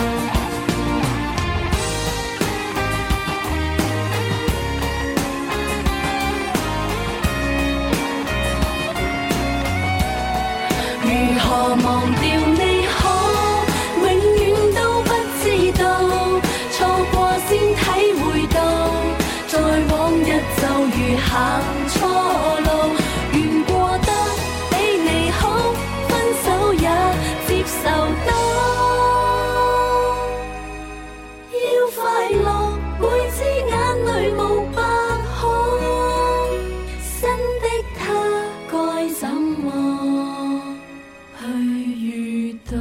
如何忘掉你好？永遠都不知道，錯過先體會到，在往日就如行錯路，願過得比你好，分手也接受得，要快樂每支眼淚無白孔，新的他該怎麼去遇到？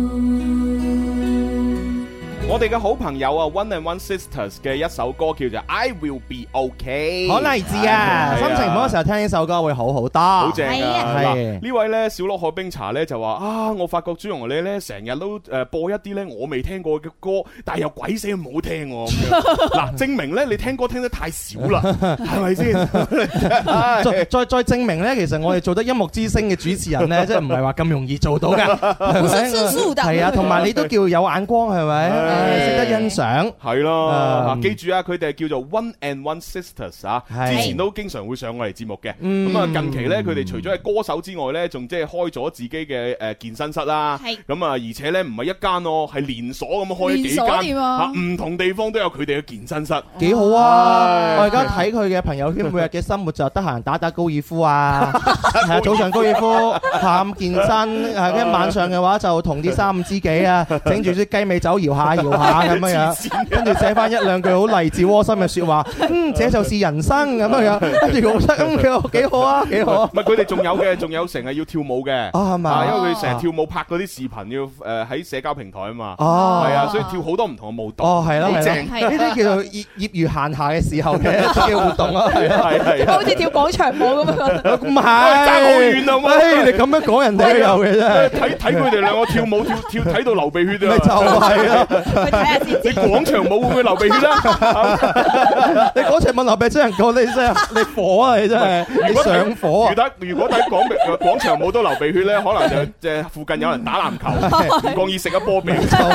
我哋嘅好朋友啊 ，One and One Sisters 嘅一首歌叫做《I Will Be OK》， 好勵志啊！心情唔好嘅時候聽呢首歌會好好多， 好正啊！ 係嗱，呢位咧小鹿海冰茶咧就話啊，我發覺朱紅你咧成日都誒播一啲咧我未聽過嘅歌，但係又鬼死咁好聽喎。嗱，證明咧你聽歌聽得太少啦，係咪先？ 再再再證明咧，其實我哋做得音樂之聲嘅主持人咧，即係唔係話咁容易做到㗎，係咪？係啊，同埋你都叫有眼光，係咪？識得欣賞， 係咯。嗱，記住啊，佢哋係叫做 One and One Sisters 啊，之前都經常會上我哋節目嘅。咁啊，近期咧，佢哋除咗係歌手之外咧，仲即係開咗自己嘅誒健身室啦。咁啊，而且咧唔係一間咯，係連鎖咁開幾間啊，唔同地方都有佢哋嘅健身室， 幾好啊！我而家睇佢嘅朋友圈，每日嘅生活就得閒打打高爾夫啊，係啊，早上高爾夫，下午健身，係跟晚上嘅話就同啲三五知己啊，整住啲雞尾酒搖下搖下咁樣樣，跟住寫翻一兩句好勵志窩心嘅説話，嗯，這就是人生咁樣樣，跟住我覺得咁幾好幾好啊，幾好啊！ 唔係佢哋仲有嘅，仲有成日要跳舞嘅， 啊係嘛？ 因為佢成日跳舞拍嗰啲視頻要誒喺社交平台啊嘛， 哦， 係啊，所以跳好多唔同嘅舞蹈， 哦係啦， 好正， 呢啲叫做業業餘閒暇嘅時候嘅嘅活動啊，係啊係好似跳廣場舞咁樣， 唔係爭好遠啊嘛！ 你咁樣講人哋都有嘅啫， 睇睇佢哋兩個跳舞跳跳睇到流鼻血啊！ 咪就係咯， 去睇下先。 你廣場舞會唔會流鼻血咧？ 你廣場舞流鼻血真係講你真係你火啊！你真係你上火啊！ 如果如果睇廣廣場舞都流鼻血咧，可能就即係附近有人打籃球，唔覺意食一波鼻。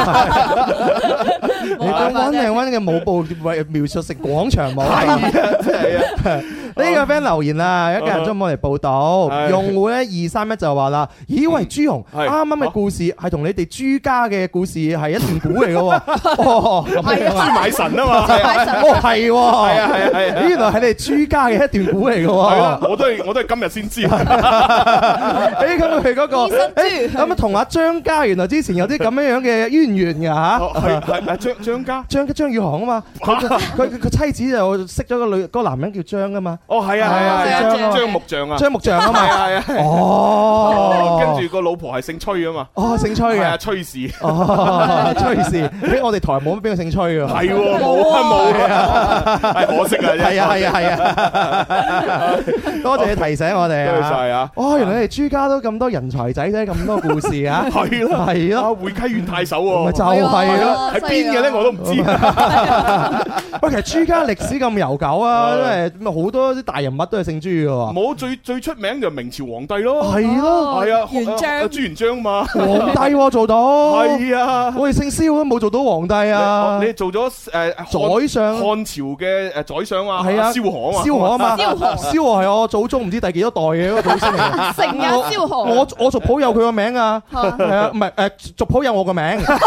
你將溫靚溫嘅舞步描述成廣場舞，係啊，真係啊！呢個 friend 留言啊，一家人中午嚟報道，用戶咧二三一就話啦，咦喂朱紅，啱啱嘅故事係同你哋朱家嘅故事係一段古嚟嘅喎，哦，咁樣啊， 朱買神啊嘛， 哦係喎，係啊係啊係啊，原來係你哋朱家嘅一段古嚟嘅喎， 係啊，我都係我都係今日先知，誒咁佢嗰個誒咁啊同阿張家原來之前有啲咁樣樣嘅淵源㗎嚇， 係係啊張張家張張宇航啊嘛，佢佢佢妻子就識咗個女個男人叫張啊嘛。 哦，係啊，係啊，張張木匠啊， 張木匠啊嘛， 係啊，哦，跟住個老婆係姓崔啊嘛， 哦，姓崔嘅， 崔氏， 哦，崔氏，喺我哋台冇乜邊個姓崔㗎， 係喎，冇啊冇啊，係可惜啊， 係啊係啊係啊，多謝你提醒我哋啊， 多謝晒啊， 哦，原來你哋朱家都咁多人才仔仔，咁多故事啊， 係咯係咯， 會稽縣太守喎， 咪就係咯， 喺邊嘅咧我都唔知， 喂，其實朱家歷史咁悠久啊，因為好多啲大人物都係姓朱嘅喎。 冇最最出名就明朝皇帝咯。 係咯， 係啊， 元璋朱元璋嘛。 皇帝做到。 係啊， 我哋姓蕭都冇做到皇帝啊。 你做咗誒宰相， 漢朝嘅誒宰相啊。 係啊， 蕭何啊。 蕭何啊嘛。 蕭何。 蕭何係我祖宗唔知第幾多代嘅嗰個祖先嚟。 成日蕭何。 我我族譜有佢個名啊。係啊，唔係誒族譜有我個名。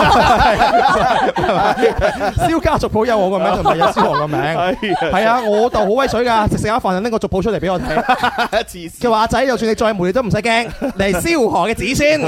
蕭家族譜有我個名，同埋有蕭何個名。係啊，我就好威水㗎，食食下飯就拎個族譜出嚟俾我睇。佢話阿仔，就算你再霉，你都唔使驚，你係蕭何嘅子孫。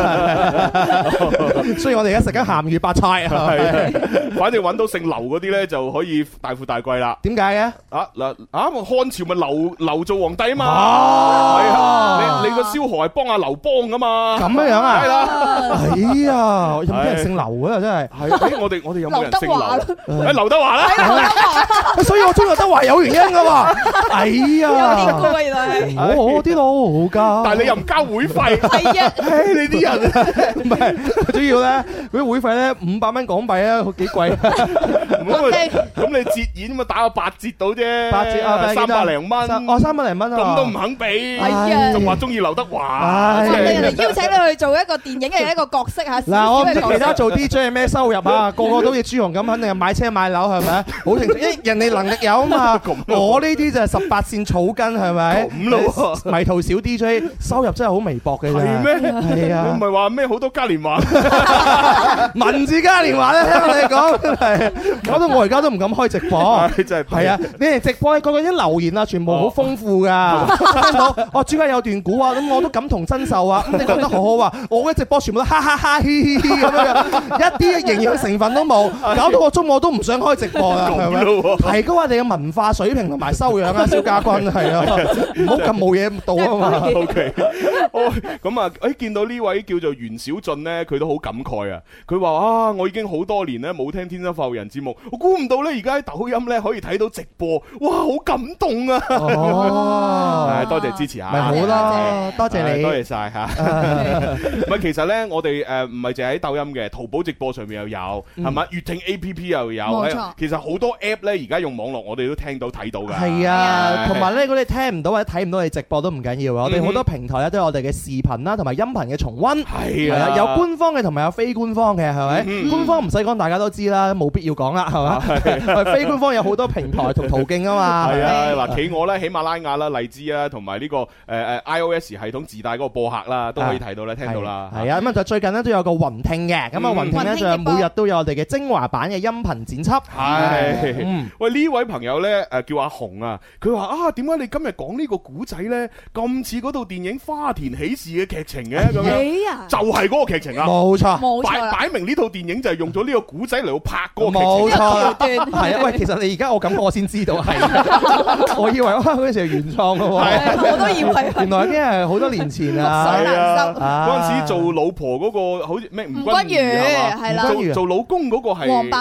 所以我哋而家食緊鹹魚白菜。 係，反正揾到姓劉嗰啲咧，就可以大富大貴啦。 點解嘅？ 啊嗱啊，漢朝咪劉劉做皇帝啊嘛。 哦， 係啊，你你個蕭何係幫阿劉邦噶嘛？ 咁樣樣啊？ 係啦。 哎呀，有冇人姓劉啊？真係。 係，誒我哋我哋有冇人姓劉？誒劉德華啦。 所以我中意劉德華有原因噶喎。哎呀， 有啲歌原來係。 我啲老家。 但係你又唔交會費。 係啊。 唉，你啲人唔係，主要咧嗰啲會費咧五百蚊港幣啊，幾貴。 咁你折現咁打個八折到啫。 八折啊， 三百零蚊。 哦，三百零蚊啊。 咁都唔肯俾。 係啊。 仲話中意劉德華。 人哋邀請你去做一個電影嘅一個角色嚇。 嗱，我唔知其他做 D J 係咩收入啊，個個都好似朱紅咁，肯定係買車買樓係咪？好清楚，因為人哋能力有啊嘛。我呢啲就係十八線草根係咪？ 咁咯， 迷途小 D J 收入真係好微薄嘅啫。 係咩？ 係啊。 唔係話咩好多嘉年華， 文字嘉年華咧，聽我哋講係，搞到我而家都唔敢開直播。 真係係啊！你哋直播咧，個個啲留言啊，全部好豐富噶。聽到哦，朱家有段古啊，咁我都感同身受啊。咁你講得好好啊！我嘅直播全部都哈哈哈嘻嘻嘻咁樣，一啲營養成分都冇，搞到我中午都唔想開直播啦，係咪？提高我哋嘅文化水平同埋修養啊，蕭家軍係啊，唔好咁冇嘢到啊嘛。 O K， 哦，咁啊，誒，見到呢位叫做袁小俊咧，佢都好感慨啊。佢話啊，我已經好多年咧冇聽《天生發育人》節目，我估唔到咧而家喺抖音咧可以睇到直播，哇，好感動啊！哦，多謝支持下， 咪好啦，多謝你， 多謝晒吓。唔係，其實咧，我哋誒唔係淨係喺抖音嘅，淘寶直播上面又有，係咪？粵聽 A P P 又有， 冇錯。 其實好多 app 咧，而家用網絡，我哋都聽到睇到噶。 係啊，同埋咧，如果你聽唔到或者睇唔到你直播都唔緊要啊。我哋好多平台咧都有我哋嘅視頻啦，同埋音頻嘅重溫。係啊，有官方嘅同埋有非官方嘅，係咪？官方唔使講，大家都知啦，冇必要講啦，係嘛？非官方有好多平台同途徑啊嘛。 係啊，嗱，企鵝咧、喜馬拉雅啦、荔枝啊，同埋呢個誒誒 iOS 系統自帶嗰個播客啦，都可以睇到咧，聽到啦。 係啊，咁啊就最近咧都有個雲聽嘅，咁啊雲聽咧就每日都有我哋嘅精華版嘅音頻剪輯。 係，喂呢位朋友咧誒叫阿紅啊，佢話啊點解你今日講呢個古仔咧咁似嗰套電影《花田喜事》嘅劇情嘅咁樣？就係嗰個劇情啊！ 冇錯， 冇錯， 擺擺明呢套電影就係用咗呢個古仔嚟到拍嗰個劇情。 冇錯，係啊！喂，其實你而家我咁我先知道係，我以為哇嗰陣時係原創嘅喎， 我都以為原來已經係好多年前啊！ 水難收嗰陣時做老婆嗰個好似咩吳君如係啦， 做做老公嗰個係黃百鳴，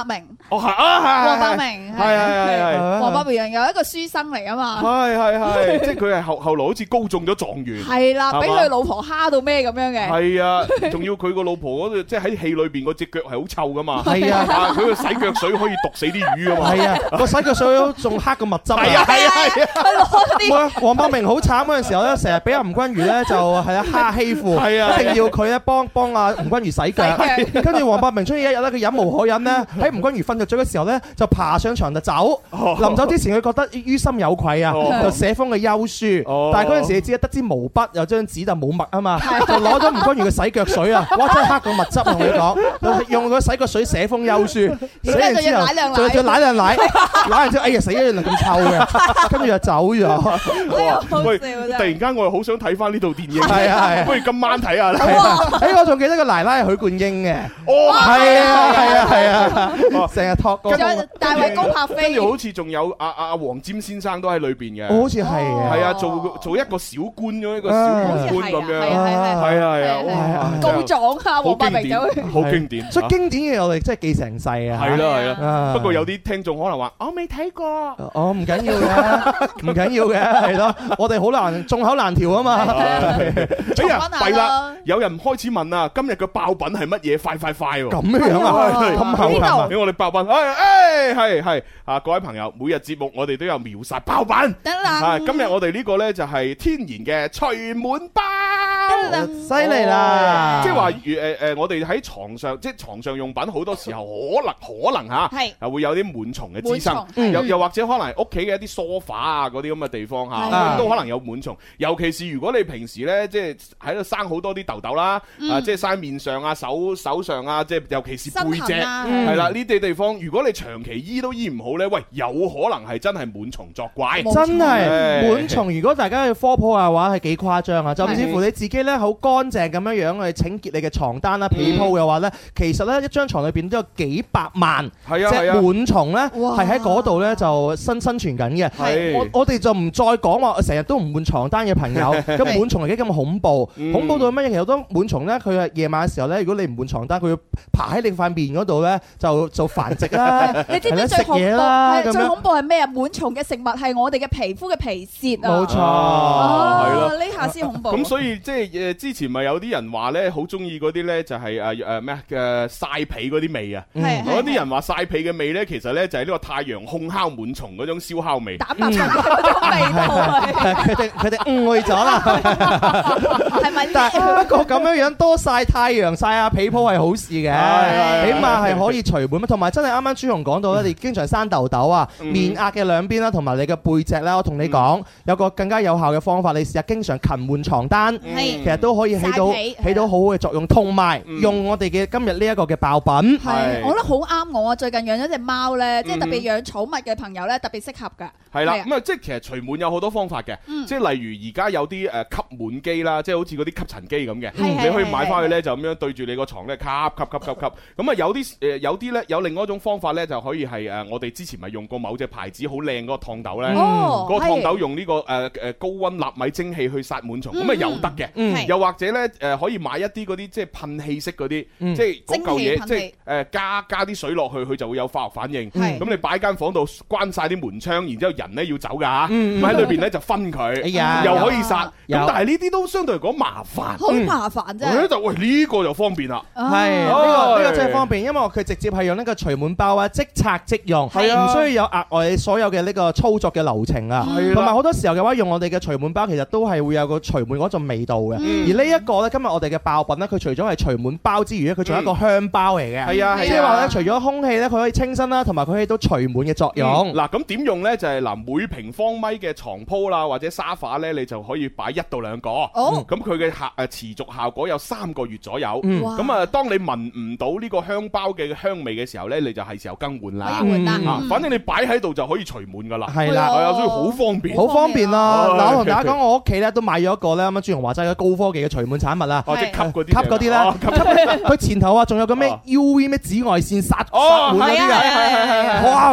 哦係啊係。 黃百鳴係係係係。 黃百鳴有一個書生嚟啊嘛。 係係係，即係佢係後後來好似高中咗狀元。 係啦，俾佢老婆蝦到咩咁樣嘅。 係啊，仲要佢個老婆嗰度，即係喺戲裏邊嗰隻腳係好臭噶嘛。 係啊， 佢個洗腳水可以毒死啲魚啊嘛。 係啊，個洗腳水仲黑過蜜汁。 係啊係啊係啊。 攞啲。 黃百鳴好慘嗰陣時候咧，成日俾阿吳君如咧就係啊蝦欺負， 係啊， 一定要佢咧幫幫阿吳君如洗腳。跟住黃百鳴終於一日咧，佢忍無可忍咧，喺吳君如瞓着咗嘅時候咧，就爬上床就走。臨走之前，佢覺得於心有愧啊，就寫封嘅休書。但係嗰陣時你知得支毛筆有張紙就冇墨啊嘛，就攞咗吳君如嘅洗腳水啊，哇真係黑過蜜汁同你講，用個洗腳水寫封休書，寫完之後仲要奶兩奶，奶完之後哎呀死咗，原來咁臭嘅，跟住就走咗。 喂，突然間我又好想睇翻呢套電影， 係啊係啊， 不如今晚睇下啦。 誒我仲記得個奶奶係許冠英嘅， 哦係啊係啊係啊，成日托歌。 大衛高柏飛， 跟住好似仲有阿阿黃霑先生都喺裏邊嘅， 好似係係啊，做做一個小官咁一個小官咁樣，係啊係啊係啊， 告狀啊，黃百鳴走去， 好經典， 所以經典嘅我哋真係記成世啊。 係啦係啦，不過有啲聽眾可能話我未睇過， 我唔緊要嘅，唔緊要嘅，係咯，我哋好難眾口難調啊嘛。 哎呀，弊啦，有人開始問啊，今日嘅爆品係乜嘢？快快快喎！ 咁樣啊，咁後頭俾我哋爆品，誒誒係係啊，各位朋友，每日節目我哋都有秒殺爆品。 得啦， 今日我哋呢個咧就係天然嘅除滿包， 犀利啦！ 即係話誒誒，我哋喺床上，即係床上用品好多時候可能可能嚇係啊會有啲蟎蟲嘅滋生，又又或者可能屋企嘅一啲梳化啊嗰啲咁嘅地方嚇都可能有蟎蟲，尤其是如果你平時咧即係喺度生好多啲痘痘啦，啊即係生面上啊、手手上啊，即係尤其是背脊係啦呢啲地方，如果你長期醫都醫唔好咧，喂有可能係真係蟎蟲作怪， 真係蟎蟲。如果大家去科普嘅話，係幾誇張啊！甚至乎你自己咧好乾淨咁樣樣去清潔你嘅床單啦、被鋪嘅話咧，其實咧一張床裏邊都有幾百萬隻蟎蟲咧，係喺嗰度咧就生生存緊嘅。我我哋就唔再講話成日都唔換床單嘅朋友，咁蟎蟲係幾咁恐怖？恐怖到乜嘢？其實好多蟎蟲咧，佢係夜晚嘅時候咧，如果你唔換床單，佢要爬喺你塊面嗰度咧，就就繁殖啦。 你知唔知最恐怖係最恐怖係咩啊？蟎蟲嘅食物係我哋嘅皮膚嘅皮屑啊！ 冇錯， 係咯， 呢下先恐怖。 咁所以即係誒之前咪有啲人話咧，好中意嗰啲咧就係誒誒咩嘅曬被嗰啲味啊！嗰啲人話曬被嘅味咧，其實咧就係呢個太陽烘烤蟎蟲嗰種燒烤味。 蛋白質嗰種味道， 佢哋佢哋誤會咗啦。 係咪？ 但係不過咁樣樣多曬太陽、曬下被鋪係好事嘅，起碼係可以除蟎。同埋真係啱啱朱紅講到咧，你經常生痘痘啊，面額嘅兩邊啦，同埋你嘅背脊啦，我同你講有個更加有效嘅方法，你試下經常勤換床單，其實都可以起到起到好好嘅作用。同埋用我哋嘅今日呢一個嘅爆品， 係我覺得好啱我啊！最近養咗隻貓咧，即係特別養寵物嘅朋友咧，特別適合㗎。 係啦，咁啊，即係其實除蟎有好多方法嘅，即係例如而家有啲誒吸蟎機啦，即係好似嗰啲吸塵機咁嘅，你可以買翻去咧就咁樣對住你個床咧吸吸吸吸吸。咁啊有啲誒有啲咧有另外一種方法咧就可以係誒我哋之前咪用過某隻牌子好靚嗰個燙斗咧，嗰個燙斗用呢個誒誒高溫納米蒸汽去殺蟎蟲，咁啊有得嘅。又或者咧誒可以買一啲嗰啲即係噴氣式嗰啲，即係嗰嚿嘢即係誒加加啲水落去，佢就會有化學反應。咁你擺間房度關晒啲門窗，然之後人咧要走㗎嚇，咁喺裏邊咧就分佢，又可以殺。咁但係呢啲都相對嚟講麻煩， 好麻煩啫。 咧就喂呢個就方便啦， 係呢個呢個真係方便，因為佢直接係用呢個除蟎包啊，即拆即用，係啊，唔需要有額外所有嘅呢個操作嘅流程啊。同埋好多時候嘅話，用我哋嘅除蟎包，其實都係會有個除蟎嗰種味道嘅。而呢一個咧，今日我哋嘅爆品咧，佢除咗係除蟎包之餘咧，佢仲有一個香包嚟嘅。係啊，即係話咧，除咗空氣咧，佢可以清新啦，同埋佢起到除蟎嘅作用。 嗱，咁點用咧？就係嗱，每平方米嘅床鋪啦，或者沙發咧，你就可以擺一到兩個。哦，咁佢嘅效誒持續效果有三個月左右。咁啊，當你聞唔到呢個香包嘅香味嘅時候咧，你就係時候更換啦。 換啦， 反正你擺喺度就可以除蟎噶啦。 係啦， 係啊，所以好方便， 好方便啦。嗱，我同大家講，我屋企咧都買咗一個咧，啱啱朱紅話齋嘅高科技嘅除蟎產物啦。 哦，即係吸嗰啲， 吸嗰啲咧，佢前頭啊，仲有個咩 U V 咩紫外線殺殺蟎嗰啲㗎。哇，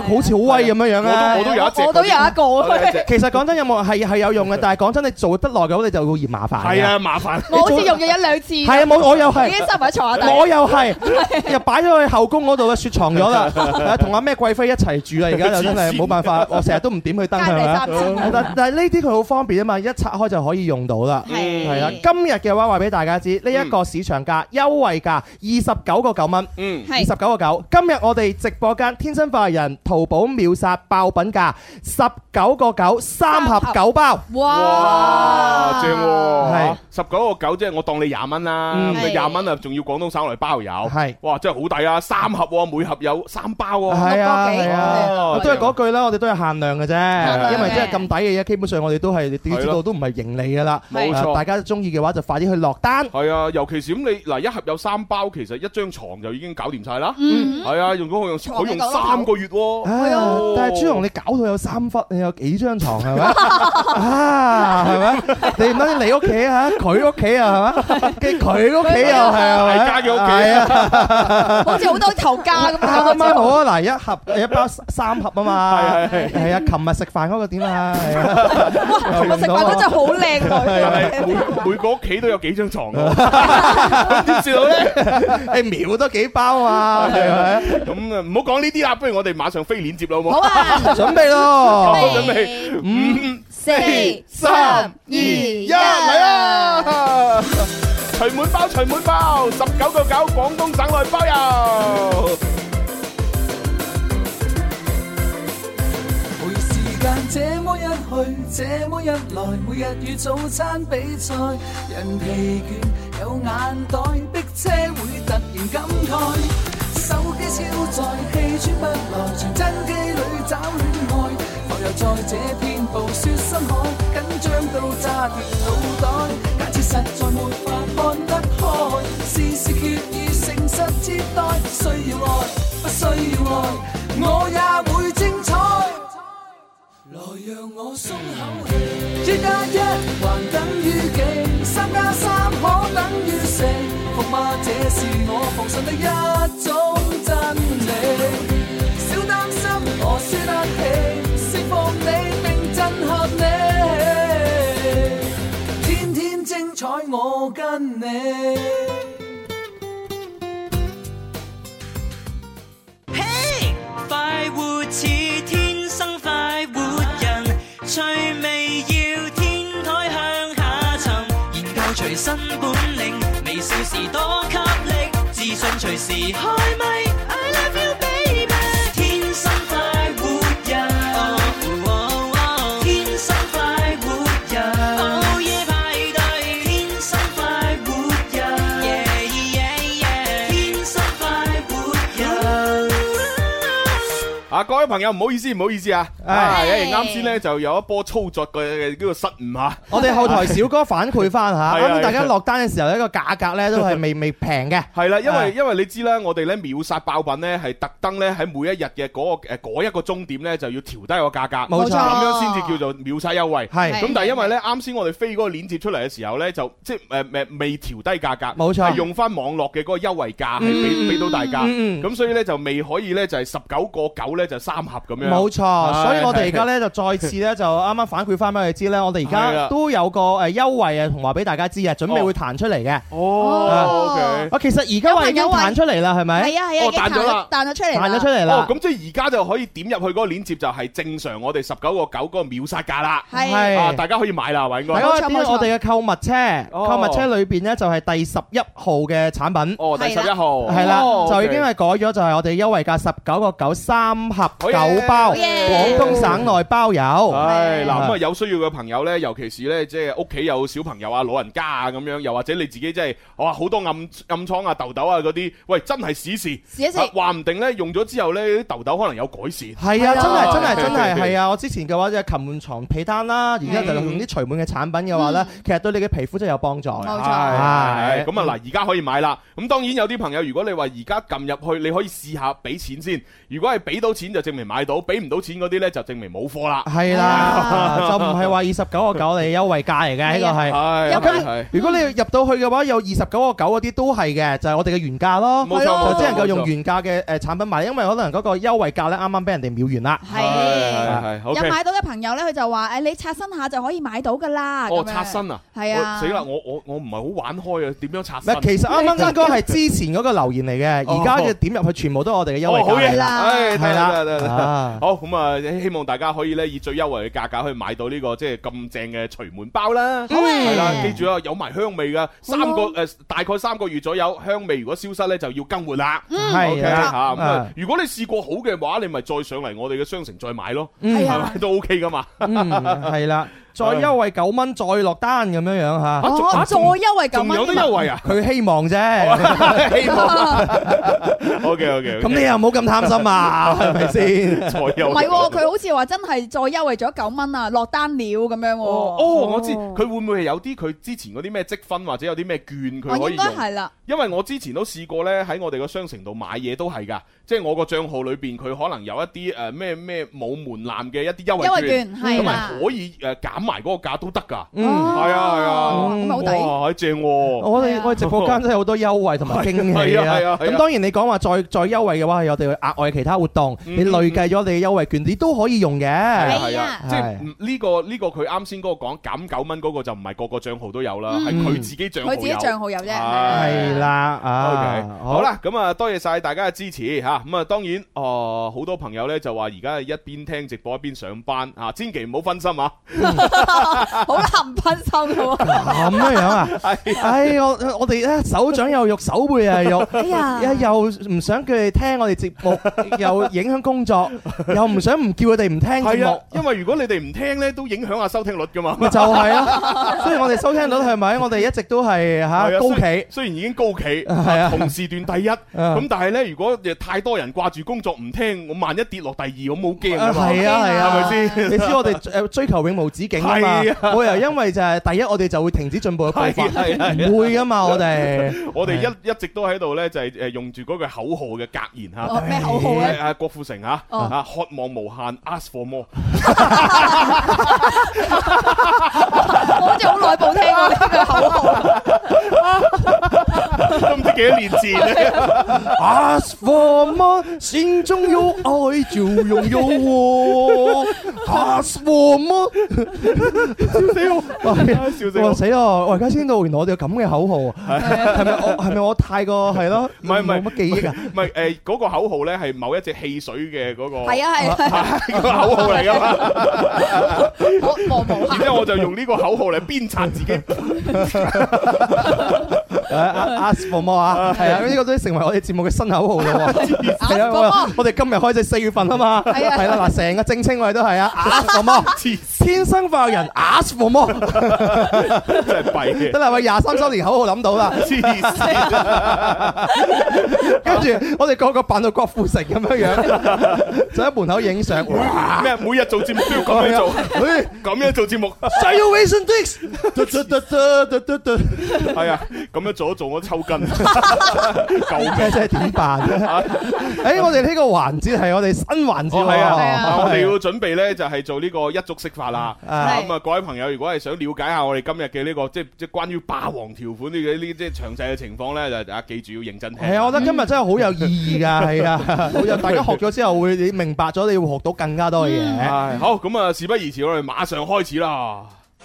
好似好威咁樣樣啊！ 我都我都有一隻， 我都有一個。 其實講真有冇係係有用嘅，但係講真你做得耐嘅話，你就會嫌麻煩。 係啊，麻煩。 我好似用咗一兩次。係啊，我我又係。 已經收埋喺床下底。 我又係，又擺咗去後宮嗰度啦，雪藏咗啦。同阿咩貴妃一齊住啦，而家就真係冇辦法，我成日都唔點佢燈係咪？但但係呢啲佢好方便啊嘛，一拆開就可以用到啦。係啦，今日嘅話話俾大家知，呢一個市場價優惠價二十九個九蚊，嗯，二十九個九。今日我哋直播間天生快活人淘寶秒殺爆品價十九個九，三盒九包。 哇，正喎！ 係十九個九，即係我當你廿蚊啦，廿蚊啊，仲要廣東省內包郵。係，哇，真係好抵啊！三盒喎，每盒有三包喎。係啊，係啊，都係嗰句啦，我哋都係限量嘅啫，因為即係咁抵嘅嘢，基本上我哋都係你知道都唔係盈利噶啦。冇錯，大家中意嘅話就快啲去落單。係啊，尤其是咁你嗱一盒有三包，其實一張床就已經搞掂晒啦。嗯，係啊，用咗用佢用三個月喎。係啊，但係朱紅你搞到有三忽，你有幾張床係咪？啊，係咪？你唔單止你屋企啊，佢屋企啊，係嘛？跟佢屋企又係啊，大家嘅屋企啊， 好似好多頭家咁。 啱啱好啊！嗱，一盒一包三盒啊嘛。係係係啊！琴日食飯嗰個點啊？係啊！哇！琴日食飯嗰真係好靚女。 每每個屋企都有幾張床㗎。點算好咧？誒秒多幾包啊！係咪？咁啊，唔好講呢啲啦，不如我哋馬上飛鏈接啦，好冇？ 好啊！準備咯！ 準備五、 四、三、二、一， 嚟啦！除滿包，除滿包，十九個九，廣東省內包郵。 每時間這麼一去，這麼一來，每日與早餐比賽，人疲倦有眼袋，逼車會突然感慨，手機超載，氣喘不來，傳真機裏找戀愛，浮游在這片暴雪深海，緊張到炸斷腦袋，假設實在沒法看得開，事事決意誠實接待，需要愛不需要愛，我也會精彩。來讓我鬆口氣，一加一還等於幾？三加三可等於四？服嗎？這是我奉信的一種真理。小擔心，我輸得起，釋放你並震撼你，天天精彩我跟你。 嘿，快活似天生快活人，趣味要天台向下沉，研究隨身本領，微笑時多給力，自信隨時開咪。I love you baby， 天生快活人，天生快活人，午夜派對，天生快活人，天生快活人。 啊，各位朋友唔好意思，唔好意思啊，啊，因為啱先咧就有一波操作嘅呢個失誤嚇， 我哋後台小哥反饋翻嚇，咁大家落單嘅時候呢個價格咧都係未未平嘅。 係啦，因為因為你知啦，我哋咧秒殺爆品咧係特登咧喺每一日嘅嗰個誒嗰一個鐘點咧就要調低個價格， 冇錯， 咁樣先至叫做秒殺優惠。 係， 咁但係因為咧啱先我哋飛嗰個鏈接出嚟嘅時候咧，就即係誒誒未調低價格， 冇錯， 係用翻網絡嘅嗰個優惠價係俾俾到大家，咁所以咧就未可以咧就係十九個九咧就三盒咁樣。 冇錯，所以我哋而家咧就再次咧就啱啱反饋翻俾佢知咧，我哋而家都有個誒優惠啊，同話俾大家知啊，準備會彈出嚟嘅。 哦，OK。 啊，其實而家話已經彈出嚟啦，係咪？ 係啊係啊， 哦，彈咗啦， 彈咗出嚟， 彈咗出嚟啦。 哦，咁即係而家就可以點入去嗰個鏈接，就係正常我哋十九個九嗰個秒殺價啦。 係啊，大家可以買啦，係咪應該？ 係啊，點我哋嘅購物車，購物車裏邊咧就係第十一號嘅產品。 哦，第十一號。 係啦，就已經係改咗，就係我哋優惠價十九個九三盒九包，廣東省內包郵。 係嗱，咁啊有需要嘅朋友咧，尤其是咧即係屋企有小朋友啊、老人家啊咁樣，又或者你自己即係哇好多暗暗瘡啊、痘痘啊嗰啲，喂真係試試， 試一試， 話唔定咧用咗之後咧啲痘痘可能有改善。 係啊，真係真係真係係啊！我之前嘅話即係擒換床被單啦，而家就用啲除蟎嘅產品嘅話咧，其實對你嘅皮膚真係有幫助嘅。 冇錯， 係咁啊嗱，而家可以買啦。咁當然有啲朋友，如果你話而家撳入去，你可以試下俾錢先。如果係俾到錢就就證明買到，俾唔到錢嗰啲咧就證明冇貨啦。 係啦，就唔係話二十九個九你優惠價嚟嘅，呢個係。咁如果你入到去嘅話，有二十九個九嗰啲都係嘅，就係我哋嘅原價咯。 冇錯， 就只能夠用原價嘅誒產品買，因為可能嗰個優惠價咧啱啱俾人哋秒完啦。 係係係。有買到嘅朋友咧，佢就話誒你刷新下就可以買到㗎啦。 哦，刷新啊！ 係啊。 死啦！我我我唔係好玩開啊，點樣刷新？ 其實啱啱應該係之前嗰個留言嚟嘅，而家嘅點入去全部都係我哋嘅優惠價。 好嘢啦， 係啦， 好咁啊！希望大家可以咧以最優惠嘅價格去買到呢個即係咁正嘅隨門包啦。係啦，記住啊，有埋香味㗎，三個誒大概三個月左右，香味如果消失咧就要更換啦。 係啊， 嚇咁啊！如果你試過好嘅話，你咪再上嚟我哋嘅商城再買咯，係咪都 OK 㗎嘛？ 嗯，係啦。再優惠九蚊，再落單咁樣樣嚇。 哦，再優惠九蚊， 仲有得優惠啊？ 佢希望啫，希望。 O K O K。 咁你又唔好咁貪心啊，係咪先？ 再優唔係喎，佢好似話真係再優惠咗九蚊啊，落單了咁樣喎。 哦，我知佢會唔會係有啲佢之前嗰啲咩積分或者有啲咩券佢可以用？ 應該係啦。 因為我之前都試過咧，喺我哋個商城度買嘢都係㗎，即係我個帳號裏邊佢可能有一啲誒咩咩冇門檻嘅一啲優惠券， 優惠券係啦， 可以誒減埋嗰個價都得。 嗯， 係啊係啊， 咁好抵， 哇，正喎！ 我哋我哋直播間真係好多優惠同埋驚喜啊！咁當然你講話再再優惠嘅話，係我哋額外其他活動，你累計咗你嘅優惠券，你都可以用嘅。 係啊，即係呢個呢個佢啱先嗰個講減九蚊嗰個就唔係個個帳號都有啦，係佢自己帳號有。 佢自己帳號有啫。 係啦，OK， 好啦，咁啊多謝晒大家嘅支持嚇，咁啊當然哦好多朋友咧就話而家係一邊聽直播一邊上班啊，千祈唔好分心啊！ 好難分心嘅喎， 咁樣樣啊！唉，我我哋咧手掌又肉，手背又肉，哎呀，又唔想佢哋聽我哋節目，又影響工作，又唔想唔叫佢哋唔聽節目， 因為如果你哋唔聽咧，都影響下收聽率噶嘛。 就係啊，所以我哋收聽率係咪？我哋一直都係嚇高企， 雖然已經高企，係啊，同時段第一，咁但係咧，如果太多人掛住工作唔聽，我萬一跌落第二，我冇驚啊嘛。 係啊係啊， 係咪先？ 你知我哋誒追求永無止境啊嘛。我又因為就係第一，我哋就會停止進步嘅步伐，唔會噶嘛，我哋我哋一一直都喺度咧，就係誒用住嗰句口號嘅格言嚇。 咩口號咧？ 阿郭富城嚇啊，渴望無限 ，ask for more。 我好似好耐冇聽過呢句口號， 都唔知幾多年前咧。 ask for more，心中有愛就擁有我。ask for more。笑死我！笑死我！死咯！我而家先到，原來我哋有咁嘅口號，係咪我係咪我太過係咯？ 唔係唔係冇乜記憶啊！ 唔係誒，嗰個口號咧係某一隻汽水嘅嗰個係啊係係個口號嚟噶嘛？ 我望無限。 然之後我就用呢個口號嚟鞭策自己。 ask for more啊！係啊，呢個都成為我哋節目嘅新口號咯。係啊，我哋今日開始四月份啊嘛。係啊，係啦，嗱，成個正稱我哋都係啊。ask for more，天生化人 ask for more， 真係弊嘅。 得啦，喂，廿三周年口號諗到啦。 黐線！ 跟住我哋個個扮到郭富城咁樣樣，就喺門口影相。 咩？每日做節目都要咁樣做，咁樣做節目。 Salvation Dix， 係啊，咁樣做一做我抽筋， 救命！真係點辦咧？誒，我哋呢個環節係我哋新環節係啊，我哋要準備咧就係做呢個一觸識法啦。 係咁啊，各位朋友，如果係想了解下我哋今日嘅呢個即係即係關於霸王條款呢嘅呢即係詳細嘅情況咧，就大家記住要認真聽。 係啊，我覺得今日真係好有意義㗎，係啊，好有大家學咗之後會你明白咗，你會學到更加多嘅嘢。 係好，咁啊，事不宜遲，我哋馬上開始啦。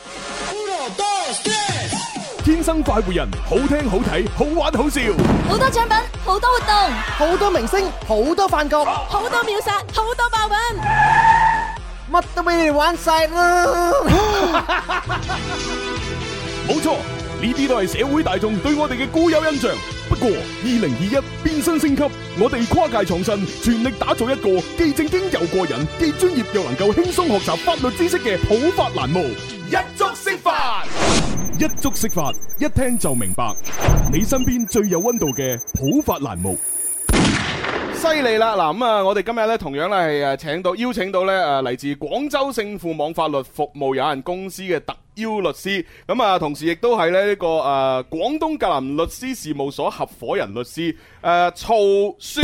天生快活人，好聽好睇，好玩好笑， 好多獎品，好多活動， 好多明星，好多飯局， 好多秒殺，好多爆品， 乜都俾你哋玩晒啦！ 冇錯，呢啲都係社會大眾對我哋嘅固有印象。不過，二零二一變身升級，我哋跨界創新，全力打造一個既正經又過癮，既專業又能夠輕鬆學習法律知識嘅普法欄目。一觸識法，一觸識法，一聽就明白。你身邊最有溫度嘅普法欄目。犀利啦！嗱咁啊，我哋今日咧同樣咧係誒請到邀請到咧誒嚟自廣州勝富網法律服務有限公司嘅特邀律師，咁啊同時亦都係咧呢個誒廣東格林律師事務所合夥人律師誒曹雪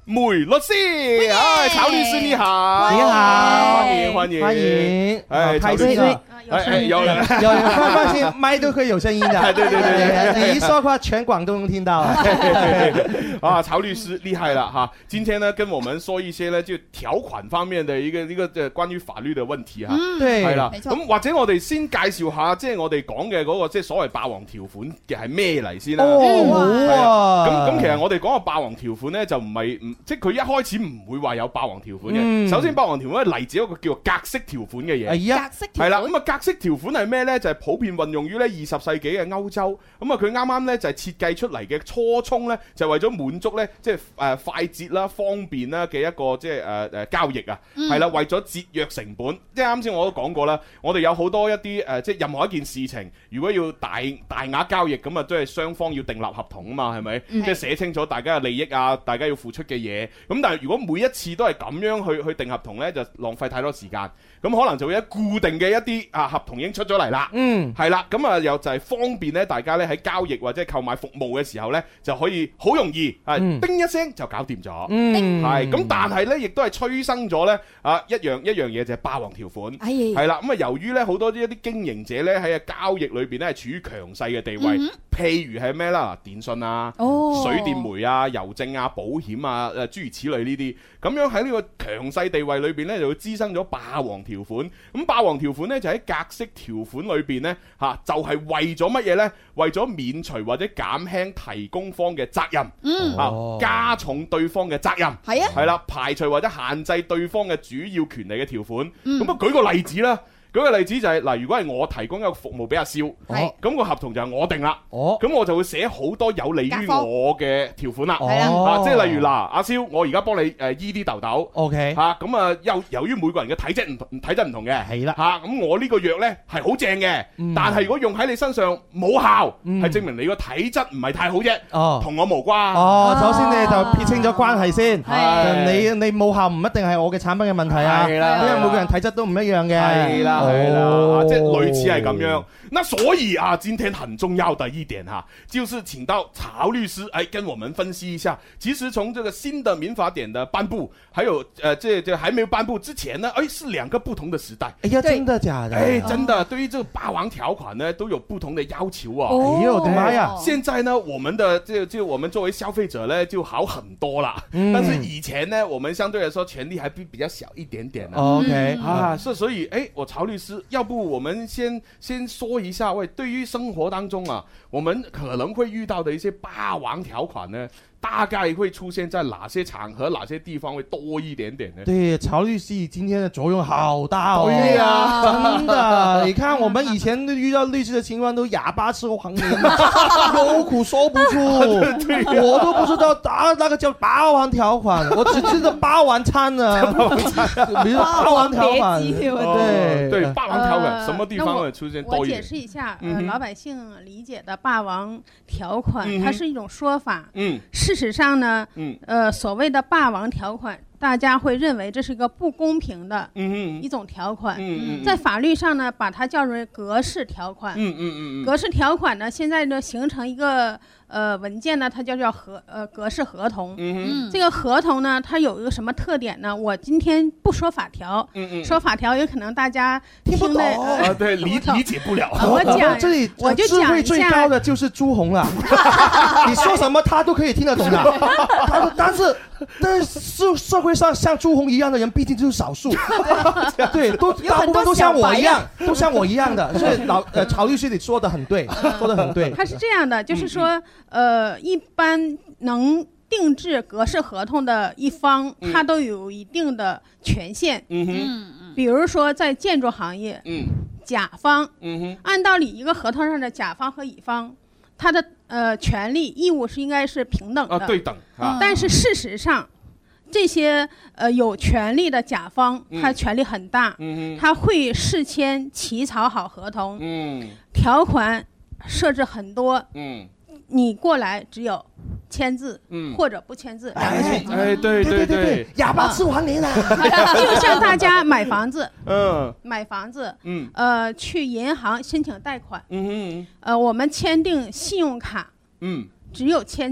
梅律師，哎，曹律師你好， 你好， 歡迎歡迎歡迎， 哎，曹律師，哎，有人有人放放心，麥都可以有聲音的， 對對對對， 你一說話全廣都能聽到。 啊，曹律師厲害了哈！今天呢，跟我們說一些呢，就條款方面的一個一個誒關於法律的問題哈。 嗯，對， 係啦。咁或者我哋先介紹下，即係我哋講嘅嗰個即係所謂霸王條款嘅係咩嚟先啦。 哦， 咁咁其實我哋講嘅霸王條款呢，就唔係唔即係佢一開始唔會話有霸王條款嘅。首先，霸王條款係嚟自一個叫做格式條款嘅嘢。 係啊， 格式條款。 係啦，咁啊格式條款係咩呢？就係普遍運用於咧二十世紀嘅歐洲。咁啊佢啱啱咧就係設計出嚟嘅初衷咧，就係為咗滿足咧即係誒快捷啦、方便啦嘅一個即係誒誒交易啊。係啦，為咗節約成本，即係啱先我都講過啦。我哋有好多一啲誒即係任何一件事情，如果要大大額交易咁啊，都係雙方要訂立合同啊嘛，係咪？即係寫清楚大家嘅利益啊，大家要付出嘅嘢。咁但係如果每一次都係咁樣去去訂合同咧，就浪費太多時間。咁可能就會有固定嘅一啲啊合同已經出咗嚟啦，嗯，係啦，咁啊又就係方便咧，大家咧喺交易或者購買服務嘅時候咧，就可以好容易啊，叮一聲就搞掂咗，嗯，係咁，但係咧亦都係催生咗咧啊一樣一樣嘢就係霸王條款，係啦，咁啊由於咧好多啲一啲經營者咧喺交易裏邊咧係處於強勢嘅地位，譬如係咩啦，電信啊、水電煤啊、郵政啊、保險啊誒諸如此類呢啲，咁樣喺呢個強勢地位裏邊咧就會滋生咗霸王條條款咁霸王條款咧就喺格式條款裏邊咧吓，就係為咗乜嘢咧？為咗免除或者減輕提供方嘅責任，嗯啊，加重對方嘅責任，係啊，係啦，排除或者限制對方嘅主要權利嘅條款。咁啊，舉個例子啦。舉個例子就係嗱，如果係我提供一個服務俾阿蕭，咁個合同就係我定啦，咁我就會寫好多有利於我嘅條款啦，啊，即係例如嗱，阿蕭，我而家幫你誒醫啲痘痘，OK，嚇咁啊，由由於每個人嘅體質唔同，體質唔同嘅，係啦，嚇咁我呢個藥咧係好正嘅，但係如果用喺你身上冇效，係證明你個體質唔係太好啫，同我無關。 哦，首先你就撇清咗關係先，你你冇效唔一定係我嘅產品嘅問題啊，因為每個人體質都唔一樣嘅，係啦。 係啦，即係類似係咁樣。那所以啊，今天很重要的一點哈，就是請到曹律師來跟我們分析一下。其實從這個新的民法典的頒布，還有呃，這這還沒有頒布之前呢，誒，是兩個不同的時代。 哎呀，真的假的？ 哎，真的，對於這個霸王條款呢，都有不同的要求啊。 哎呦我的媽呀！ 現在呢，我們的就就我們作為消費者呢，就好很多啦。嗯、但是以前呢，我們相對來說權利還比比較小一點點呢。 OK 啊，是所以，哎，我曹律師，要不我們先先說一下，喂，對於生活當中啊，我們可能會遇到的一些霸王條款呢，大概會出現在哪些場合、哪些地方會多一點點呢？ 對，曹律師今天的作用好大哦。 對呀、啊， 真的，你看我們以前遇到律師的情況都啞巴吃黃連，有苦說不出。我都不知道啊，那個叫霸王條款，我只知道霸王餐啊。比如霸王條款， 對對，霸王條款什麼地方會出現多一點？ 我解釋一下，呃，老百姓理解的霸王條款，它是一種說法。嗯。事實上呢，呃，所謂的霸王條款，大家會認為這是一個不公平的一種條款。在法律上呢，把它叫做格式條款。格式條款呢，現在呢形成一個呃文件呢，它就叫合呃格式合同。這個合同呢，它有一個什麼特點呢？我今天不說法條，說法條有可能大家聽不懂啊，對，理理解不了。 我講， 這裡我就講一下， 智慧最高的就是朱紅了。你說什麼他都可以聽得懂的。他但是但是社會上像朱紅一樣的人畢竟就是少數。對，都大部分都像我一樣，都像我一樣的。所以老呃曹律師你說的很對，說的很對。 他是這樣的，就是說呃一般能定制格式合同的一方，他都有一定的權限。嗯哼，比如說在建築行業，嗯，甲方，嗯哼，按道理一個合同上的甲方和乙方，他的呃權利義務是應該是平等的， 啊，對等啊。 但是事實上，這些呃有權利的甲方，他權力很大，嗯，他會事先起草好合同，嗯，條款設置很多，嗯，你過來只有簽字，嗯，或者不簽字，兩個選擇。 哎，對對對， 啞巴吃黃連啊！ 就像大家買房子，嗯，買房子，嗯，呃，去銀行申請貸款，嗯嗯，呃，我們簽訂信用卡，嗯，只有簽字，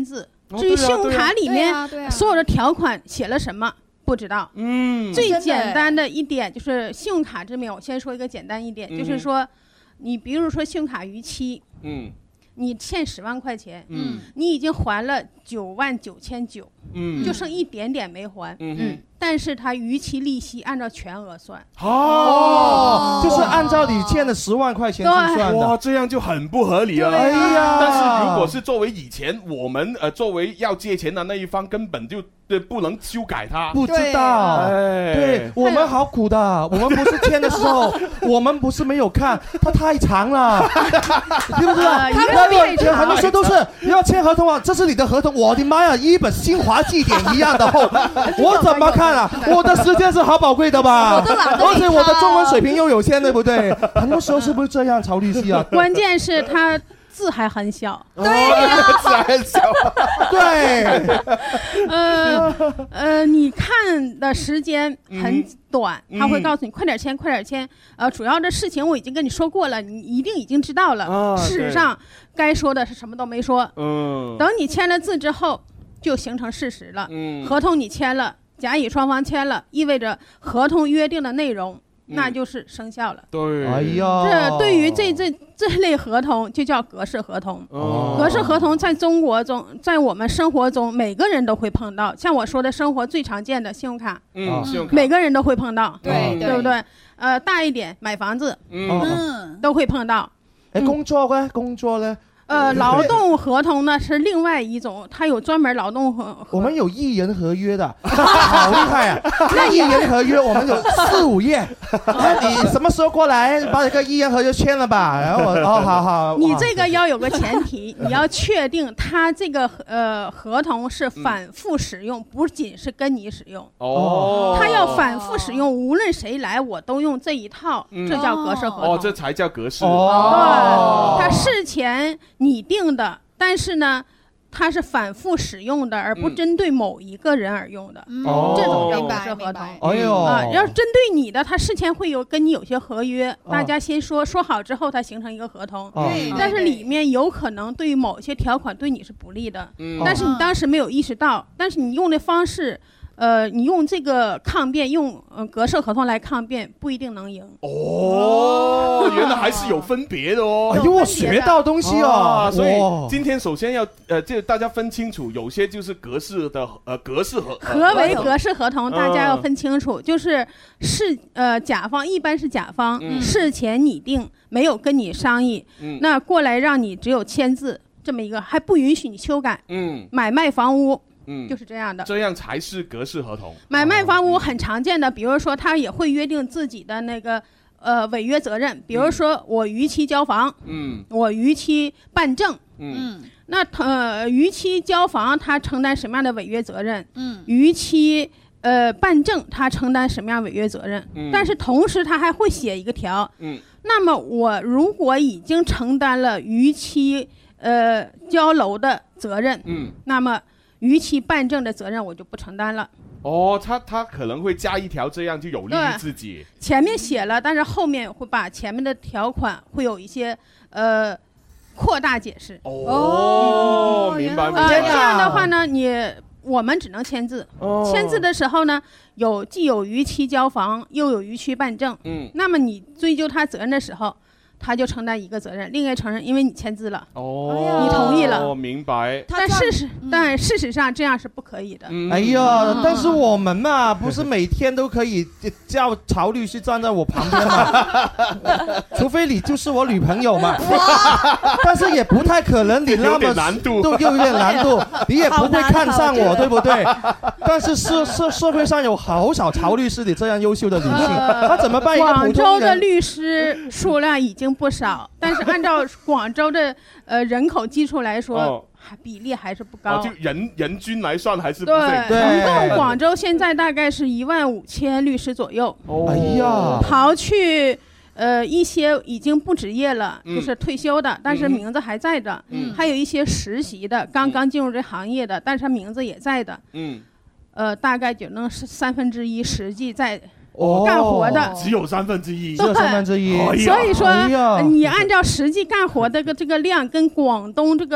至于信用卡里面所有的条款写了什么不知道。 嗯， 最简单的一点就是信用卡这边，我先说一个简单一点，就是说你比如说信用卡逾期，嗯，你欠十万块钱，嗯，你已经还了九万九千九，嗯，就剩一点点没还，嗯嗯，但是它逾期利息按照全额算， 哦，就是按照你欠的十万块钱去算的， 哇，这样就很不合理了。哎呀，但是如果是作为以前我们呃作为要借钱的那一方，根本就对不能修改它， 不知道，哎，对我们好苦的，我们不是签的时候，我们不是没有看，它太长了，知不知道？很多时候都是要签合同啊，这是你的合同，我的妈呀，一本新华字典一样的厚，我怎么看啊？我的时间是好宝贵的吧？而且我的中文水平又有限，对不对？很多时候是不是这样，曹律师啊？ 关键是他字还很小， 对，字还很小， 对， 呃呃，你看的时间很短，他会告诉你快点签，快点签。呃，主要的事情我已经跟你说过了，你一定已经知道了。事实上，该说的是什么都没说。嗯，等你签了字之后，就形成事实了。嗯，合同你签了，甲乙双方签了，意味着合同约定的内容。那就是生效了。 对， 哎呀， 这对于这这这类合同就叫格式合同。哦，格式合同在中国中，在我们生活中每个人都会碰到。像我说的，生活最常见的信用卡， 嗯，信用卡每个人都会碰到， 对对不对？呃，大一点买房子，嗯，都会碰到。 哎，工作呢？工作呢？ 呃，劳动合同呢是另外一种，它有专门劳动合。 我们有一人合约的，好厉害啊！那一人合约我们有四五页，你什么时候过来把这个一人合约签了吧？然后我哦，好好。 你这个要有个前提，你要确定它这个呃合同是反复使用，不仅是跟你使用。哦。它要反复使用，无论谁来我都用这一套，这叫格式合同。 哦，这才叫格式。 哦。对，它事前拟定的，但是呢，它是反复使用的，而不针对某一个人而用的。嗯，这种叫格式合同。 哎呦， 啊，要是针对你的，它事前会有跟你有些合约，大家先说说好之后，它形成一个合同。对，但是里面有可能对于某些条款对你是不利的，但是你当时没有意识到，但是你用的方式。呃，你用这个抗辩，用呃格式合同来抗辩，不一定能赢。 哦，原来还是有分别的哦。 哎呦，我学到东西哦。 所以今天首先要呃，这大家分清楚，有些就是格式的呃格式合。 何为格式合同？大家要分清楚，就是是呃甲方一般是甲方事前拟定，没有跟你商议，那过来让你只有签字这么一个，还不允许你修改。嗯，买卖房屋。嗯，就是这样的， 这样才是格式合同。 买卖房屋很常见的，比如说他也会约定自己的那个呃违约责任，比如说我逾期交房，嗯，我逾期办证，嗯，那呃逾期交房他承担什么样的违约责任？嗯，逾期呃办证他承担什么样违约责任？嗯，但是同时他还会写一个条，嗯，那么我如果已经承担了逾期呃交楼的责任，嗯，那么逾期办证的责任我就不承担了。 哦，他他可能会加一条，这样就有利于自己。 前面写了，但是后面会把前面的条款会有一些呃扩大解释。 哦，明白明白。 呃，这样的话呢，你我们只能签字。哦，签字的时候呢，有既有逾期交房，又有逾期办证。嗯，那么你追究他责任的时候。他就承担一个责任，另一个承认，因为你签字了，哦，你同意了， 哦，明白。 但事实，嗯、但事实上这样是不可以的。 嗯、哎呀，嗯、但是我们嘛，不是每天都可以叫曹律师站在我旁边嘛，除非你就是我女朋友嘛。但是也不太可能，你那么难度都有点难度，你也不会看上我，对不对？但是社社社会上有好少曹律师你这样优秀的女性，呃、他怎么办？ 广州的律师数量已经不少，但是按照广州的呃人口基础来说，哦、比例还是不高。 哦、就人人均来算还是不对。对，总共广州现在大概是一万五千律师左右。 哦，哎呀， 刨去呃一些已经不执业了，嗯、就是退休的，但是名字还在的，嗯、还有一些实习的，刚刚进入这行业的，但是名字也在的。嗯，呃，大概就能是三分之一实际在。哦、干活的只有三分之一， 只有三分之一。 所以说，哎、你按照实际干活的这个这个量，跟广东这个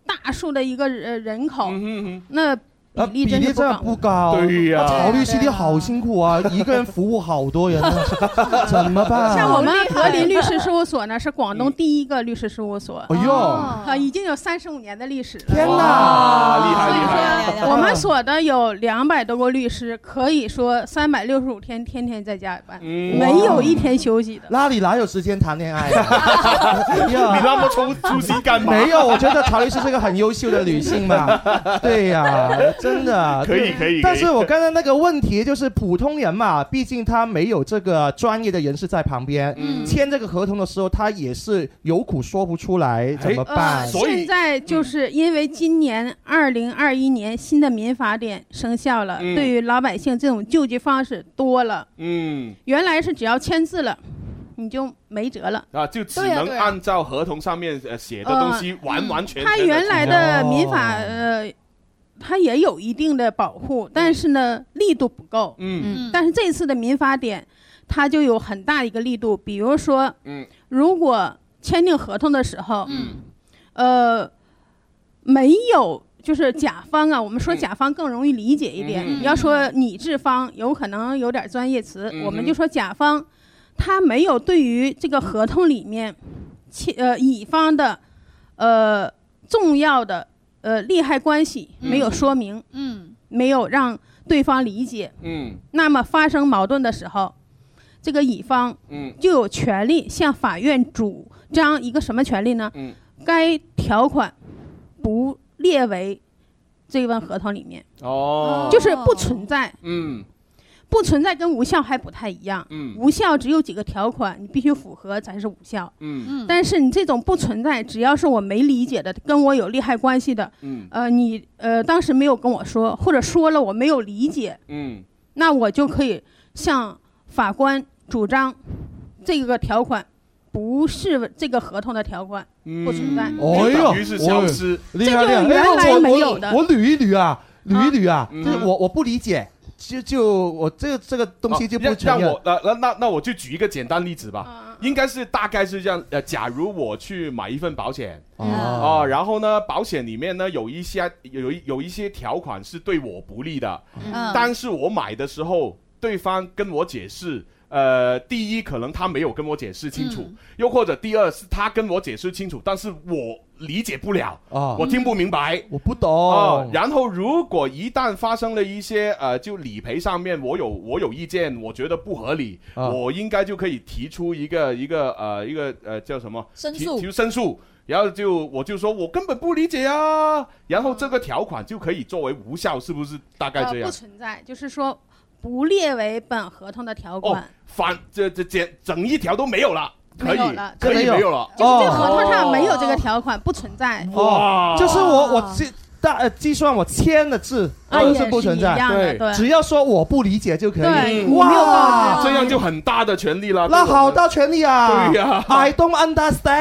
大数的一个呃人口， 嗯、 那。 啊，比例真的不高。 对呀， 曹律师你好辛苦啊，一个人服务好多人，怎么办？ 像我们格林律师事务所呢，是广东第一个律师事务所。 哎呦， 啊，已经有三十五年的历史了。 天哪， 厉害厉害！ 我们所的有两百多个律师，可以说三百六十五天天天在加班，没有一天休息的。 那你哪有时间谈恋爱？ 你那么粗粗心干嘛？ 没有，我觉得曹律师是个很优秀的女性嘛。对呀。真的可以可以， 但是我刚才那个问题就是普通人嘛，毕竟他没有这个专业的人士在旁边，嗯、签这个合同的时候，他也是有苦说不出来，怎么办？ 呃、现在就是因为今年二零二一年新的民法典生效了，嗯、对于老百姓这种救济方式多了，嗯，原来是只要签字了。你就没辙了啊！就只能按照合同上面呃写的东西完完全全。 他原来的民法呃。它也有一定的保护，但是呢，力度不够。嗯，但是这次的民法典，它就有很大一个力度。比如说，嗯，如果签订合同的时候，嗯，呃，没有就是甲方啊，我们说甲方更容易理解一点。嗯、要说拟制方，有可能有点专业词，嗯、我们就说甲方，他没有对于这个合同里面，呃，乙方的，呃，重要的。呃，利害关系没有说明，嗯，没有让对方理解，嗯，那么发生矛盾的时候，这个乙方，嗯，就有权利向法院主张一个什么权利呢？嗯，该条款不列为这份合同里面，哦，就是不存在，嗯。不存在跟无效还不太一样，嗯，无效只有几个条款，你必须符合才是无效，嗯，但是你这种不存在，只要是我没理解的，跟我有利害关系的，嗯，呃，你呃当时没有跟我说，或者说了我没有理解，嗯，那我就可以向法官主张这个条款不是这个合同的条款，嗯、不存在， 哦呦， 于是消失， 这就是原来没有的。 我捋一捋啊，捋一捋啊，嗯、就是我我不理解。就就我这个这个东西就不承认。 让我那那那那我就举一个简单例子吧，嗯、应该是大概是这样。呃，假如我去买一份保险，哦、呃，然后呢，保险里面呢有一些有有一些条款是对我不利的，嗯、但是我买的时候，对方跟我解释。呃，第一，可能他没有跟我解释清楚，嗯、又或者第二是他跟我解释清楚，但是我理解不了，啊、我听不明白， 我不懂啊。 然后，如果一旦发生了一些呃，就理赔上面我有我有意见，我觉得不合理，啊、我应该就可以提出一个一个呃一个呃叫什么申诉， 提出申诉。然后就我就说我根本不理解啊，然后这个条款就可以作为无效，是不是大概这样？ 呃、不存在，就是说。不列为本合同的条款， 哦、反这这整整一条都没有了，可以没有了， 可以没有了， 就是这个合同上没有这个条款，哦、不存在。 哇，就是我我计大呃计算我签的字都是不存在， 对对，只要说我不理解就可以。 对，哇， 这样就很大的权利了。 那好大权利啊！ 对呀 ，I don't understand 。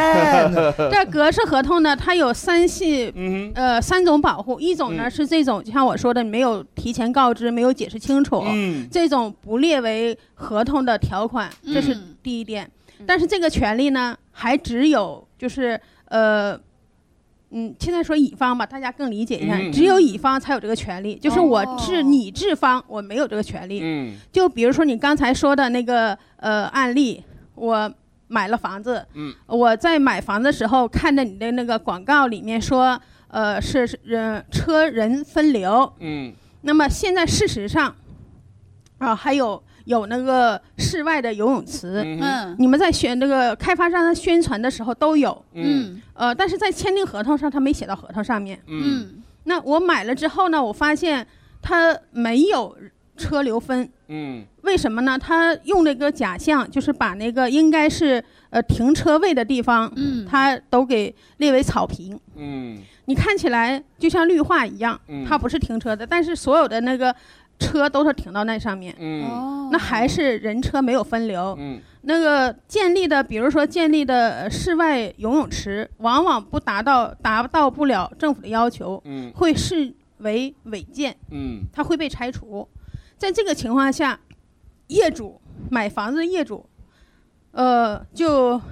这格式合同呢，它有三系，嗯、呃，三种保护。一种呢、嗯、是这种，就像我说的，没有提前告知，没有解释清楚，嗯、这种不列为合同的条款，这是第一点。嗯、但是这个权利呢，还只有就是呃。嗯，现在说乙方吧，大家更理解一下，嗯、只有乙方才有这个权利，就是我是拟制方，我没有这个权利。嗯，就比如说你刚才说的那个呃案例，我买了房子，嗯，我在买房的时候看着你的那个广告里面说，呃是人车人分流，嗯，那么现在事实上，啊、呃、还有。有那个室外的游泳池，嗯，你们在宣那个开发商的宣传的时候都有，嗯，呃，但是在签订合同上，他没写到合同上面，嗯，那我买了之后呢，我发现他没有车流分，嗯，为什么呢？他用那个假象，就是把那个应该是呃停车位的地方，嗯，他都给列为草坪，嗯，你看起来就像绿化一样，嗯，它不是停车的，但是所有的那个。车都是停到那上面，嗯，那还是人车没有分流，嗯，那个建立的，比如说建立的室外游泳池，往往不达到达到不了政府的要求，嗯，会视为违建，嗯，它会被拆除。在这个情况下，业主买房子的业主，呃，就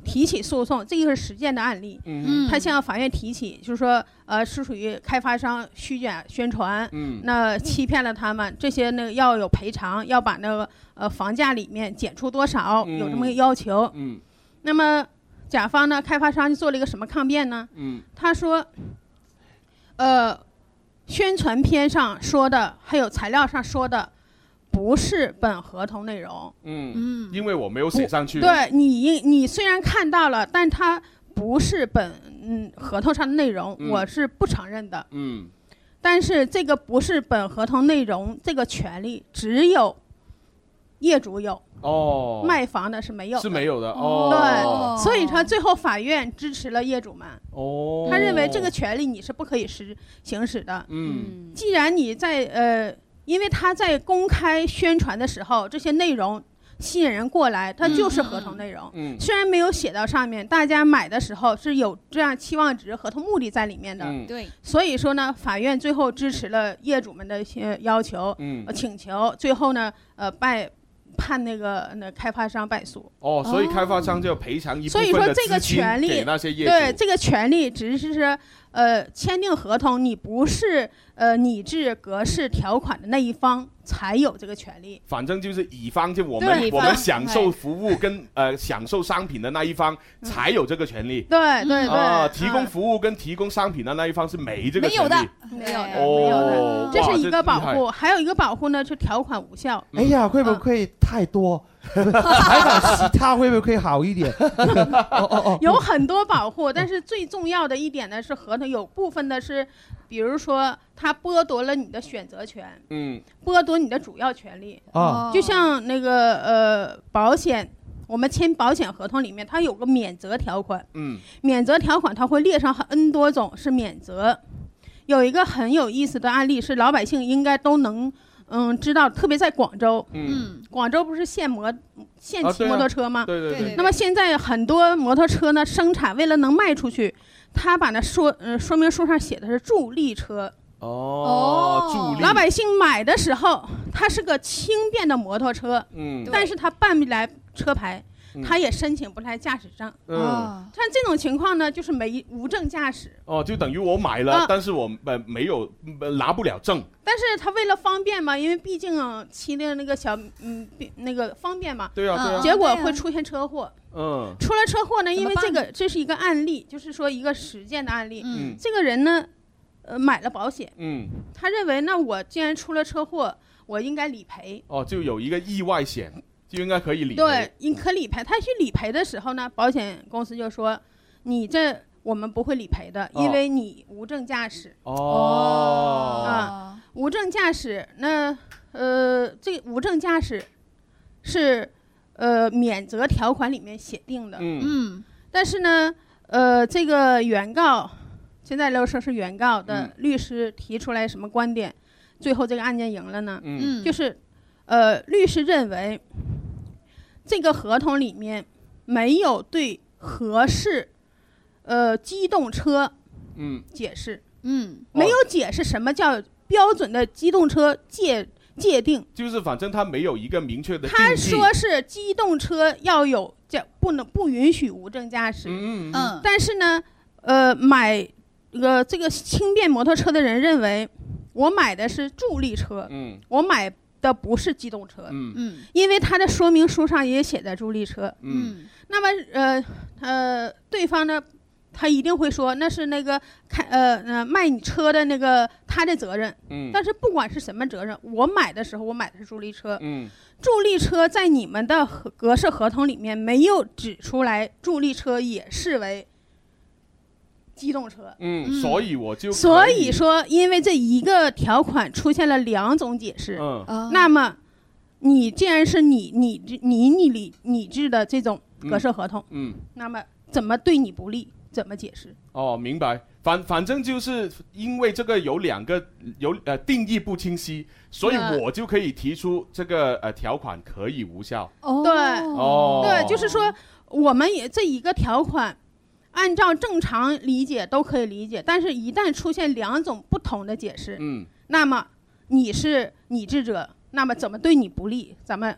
提起诉讼，这个是实践的案例。 嗯， 他向法院提起，就是说，呃，是属于开发商虚假宣传， 嗯， 那欺骗了他们，这些呢要有赔偿，要把那个呃房价里面减出多少， 嗯、 有这么个要求。 嗯， 那么甲方呢，开发商就做了一个什么抗辩呢？ 嗯， 他说，呃，宣传片上说的，还有材料上说的。不是本合同内容， 嗯嗯，因为我没有写上去。 对你，你虽然看到了，但它不是本嗯合同上的内容， 嗯、 我是不承认的。 嗯， 但是这个不是本合同内容，这个权利只有业主有。 哦， 卖房的是没有的， 是没有的。哦， 对，所以说最后法院支持了业主们。 哦， 他认为这个权利你是不可以实行使的。 嗯， 既然你在呃。因为他在公开宣传的时候，这些内容吸引人过来，它就是合同内容。 嗯， 虽然没有写到上面，大家买的时候是有这样期望值、合同目的在里面的。 嗯， 对。 所以说呢，法院最后支持了业主们的一些要求、 嗯呃、请求，最后呢，呃，败判那个那开发商败诉。 哦，所以开发商就要赔偿一部分的资金给那些业主。 所以说这个权利，对这个权利只是是。呃，签订合同，你不是呃拟制格式条款的那一方才有这个权利。 反正就是乙方，就我们我们享受服务跟呃享受商品的那一方才有这个权利。 对对对， 啊，提供服务跟提供商品的那一方是没这个权利。 没有的， 没有的， 哦、 没有的，这是一个保护。 这还有一个保护呢，是条款无效。 哎呀，会不会太多？采访其他会不会好一点？ 哦哦哦，有很多保护，但是最重要的一点呢是合同有部分的是，比如说它剥夺了你的选择权， 嗯， 剥夺你的主要权利啊， 就像那个呃保险。我们签保险合同里面，它有个免责条款， 嗯， 免责条款它会列上 N 多种是免责。有一个很有意思的案例是老百姓应该都能。嗯，知道，特别在广州， 嗯， 广州不是限摩限骑摩托车吗？ 啊对对 对, 对。 那么现在很多摩托车呢，生产为了能卖出去，他把那说嗯说明书上写的是助力车。 哦，助力。 老百姓买的时候，它是个轻便的摩托车， 嗯， 但是他办不来车牌。他也申请不来驾驶证， 嗯， 像这种情况呢，就是没无证驾驶。 哦，就等于我买了，啊、但是我呃没有、呃、拿不了证。 但是他为了方便嘛，因为毕竟骑的那个小嗯那个方便嘛， 对啊对啊， 结果会出现车祸。 嗯， 出了车祸呢，因为这个这是一个案例，就是说一个实践的案例。 嗯， 这个人呢，呃，买了保险， 嗯， 他认为那我既然出了车祸，我应该理赔。 哦，就有一个意外险。就应该可以理赔。 对，你可理赔。他去理赔的时候呢，保险公司就说：“你这我们不会理赔的，因为你无证驾驶。” 哦。 啊，无证驾驶，那呃，这无证驾驶是呃免责条款里面写定的。 嗯。 但是呢，呃，这个原告现在都说是原告的律师提出来什么观点，最后这个案件赢了呢？ 嗯。 就是呃，律师认为。这个合同里面没有对合适，呃，机动车， 嗯， 解释， 嗯， 没有解释什么叫标准的机动车界界定， 就是反正他没有一个明确的定义。 他说是机动车要有这不能不允许无证驾驶， 嗯嗯， 但是呢，呃，买呃这个轻便摩托车的人认为，我买的是助力车， 嗯， 我买。的不是机动车， 嗯嗯， 因为它的说明书上也写的助力车， 嗯， 那么呃呃，对方呢，他一定会说那是那个开呃呃卖你车的那个他的责任， 嗯， 但是不管是什么责任，我买的时候我买的是助力车， 嗯， 助力车在你们的格式合同里面没有指出来，助力车也视为。机动车， 嗯，所以我就所以说，因为这一个条款出现了两种解释， 嗯， 那么你既然是你你你你拟拟制的这种格式合同， 嗯， 那么怎么对你不利，怎么解释？ 哦，明白，反反正就是因为这个有两个有呃定义不清晰，所以我就可以提出这个呃条款可以无效。 哦，对， 哦， 对，就是说我们也这一个条款。按照正常理解都可以理解，但是一旦出现两种不同的解释， 嗯， 那么你是拟制者，那么怎么对你不利，咱们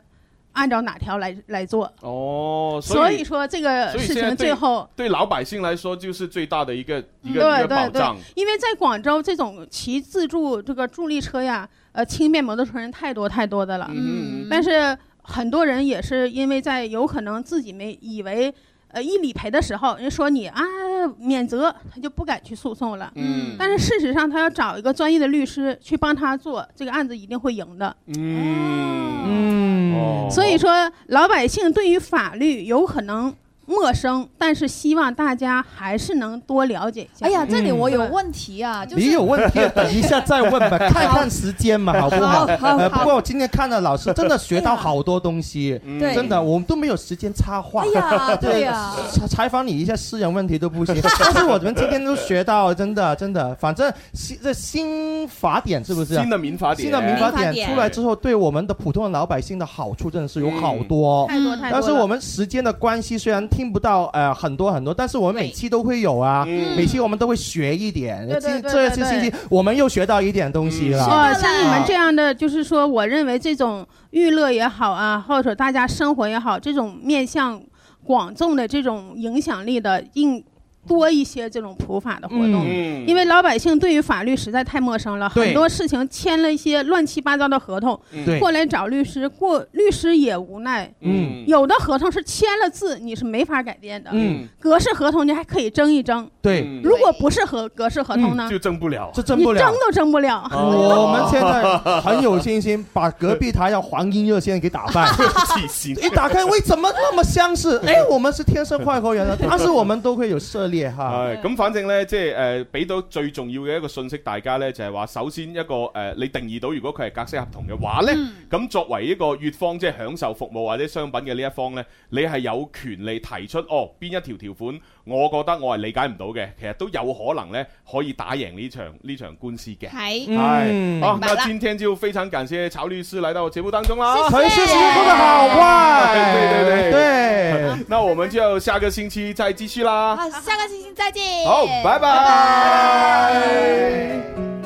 按照哪条来来做。 哦， 所以, 所以说这个事情最后对, 对老百姓来说就是最大的一个、嗯、一个对一个保障。 对对，因为在广州这种骑自助这个助力车呀，呃，轻便摩托车人太多太多的了。嗯，但是很多人也是因为在有可能自己没以为。呃，一理赔的时候，人说你啊免责，他就不敢去诉讼了。嗯，但是事实上，他要找一个专业的律师去帮他做这个案子，一定会赢的。 嗯嗯、哦，所以说老百姓对于法律有可能陌生，但是希望大家还是能多了解一下。 哎呀，这里我有问题啊， 嗯、 就是你有问题，等一下再问吧，看看时间嘛，好不好？ 好好好呃、不过我今天看了老师，真的学到好多东西， 哎、 真的，我们都没有时间插话。 哎呀，对呀， 采访你一下私人问题都不行，但是我们今天都学到，真的真的，反正新这新法典是不是、啊？ 新的民法典， 新的民法典出来之后，对我们的普通的老百姓的好处真的是有好多， 太多太多。 但是我们时间的关系，虽然听不到呃。很多很多，但是我们每期都会有啊，嗯、每期我们都会学一点。 对对对对对， 这次星期我们又学到一点东西了。 哦、嗯，像你们这样的，就是说，我认为这种娱乐也好啊，或者大家生活也好，这种面向广众的这种影响力的，应多一些这种普法的活动、嗯，因为老百姓对于法律实在太陌生了，很多事情签了一些乱七八糟的合同，过来找律师，过律师也无奈。嗯，有的合同是签了字，你是没法改变的。嗯，格式合同你还可以争一争。 对， 如果不是合格式合同呢， 嗯、就争不了， 这争不了， 你争都争不了。 哦、我们现在很有信心，把隔壁台要黄金热线给打败。一打开，喂，怎麼那麼相似？哎，我們是天生快活人啊，但是我們都會有涉獵哈。 係咁，反正咧，即係誒，俾到最重要嘅一個信息，大家咧就係話，首先一個誒、呃，你定義到如果佢係格式合同嘅話咧，咁、嗯、作為一個乙方，即係享受服務或者商品嘅呢一方咧，你係有權利提出哦，邊一條條款，我覺得我係理解唔到嘅，其實都有可能咧可以打贏呢場呢場官司嘅。 係， 係，好，那今天就非常感謝曹律師來到節目當中啦。 謝謝，說得好壞， 對對對對。 那我們就下個星期再繼續啦。 好，下個星期再見。 好，拜拜。拜拜。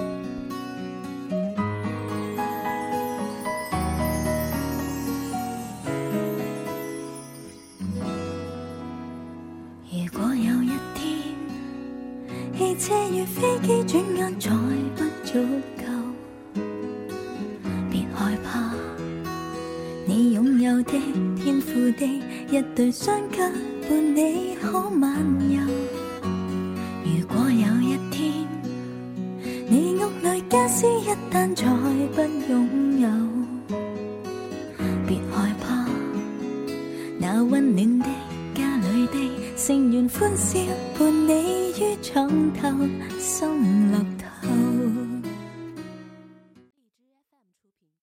如果有一天，汽車與飛機轉眼再不足夠，別害怕，你擁有的天賦的一對雙腳伴你可漫遊。如果有一天，你屋裏家私一旦再不擁有，別害怕，那溫暖的家裏的成員歡笑伴你於床頭心樂。